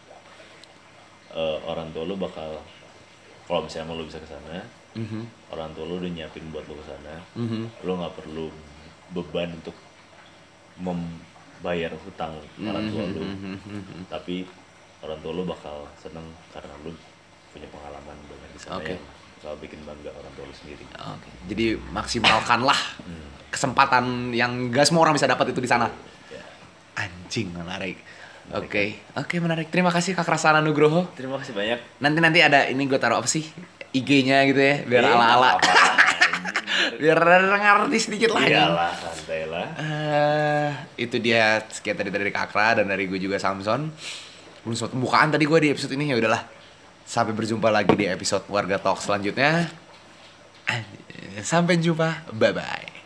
eh, orang tua lu bakal, kalau misalnya emang lu bisa ke sana, Mhm. orang tua lu udah nyiapin buat lu ke sana. Mhm. Lu nggak perlu beban untuk membayar hutang orang tua lu, Mhm. tapi orang tua lu bakal seneng karena lu punya pengalaman banyak di sana Oke. yang bakal bikin bangga orang tua lu sendiri. Oke. Jadi maksimalkanlah Hmm. kesempatan yang gak semua orang bisa dapat itu di sana. Ya. Anjing menarik. Menarik, Oke, oke menarik. Terima kasih Kak Rasana Nugroho. Terima kasih banyak. Nanti nanti ada ini gue taruh apa sih I G-nya gitu ya, biar Eh, ala-ala. apa-apa, anjing. Biar ngerti sedikit lah. ya. Iyalah, santai lah. Eh, itu dia sekian tadi dari Kakra dan dari gue juga Samson. Belum sempat pembukaan tadi gue di episode ini, ya udahlah. Sampai berjumpa lagi di episode Warga Talk selanjutnya. Sampai jumpa. Bye bye.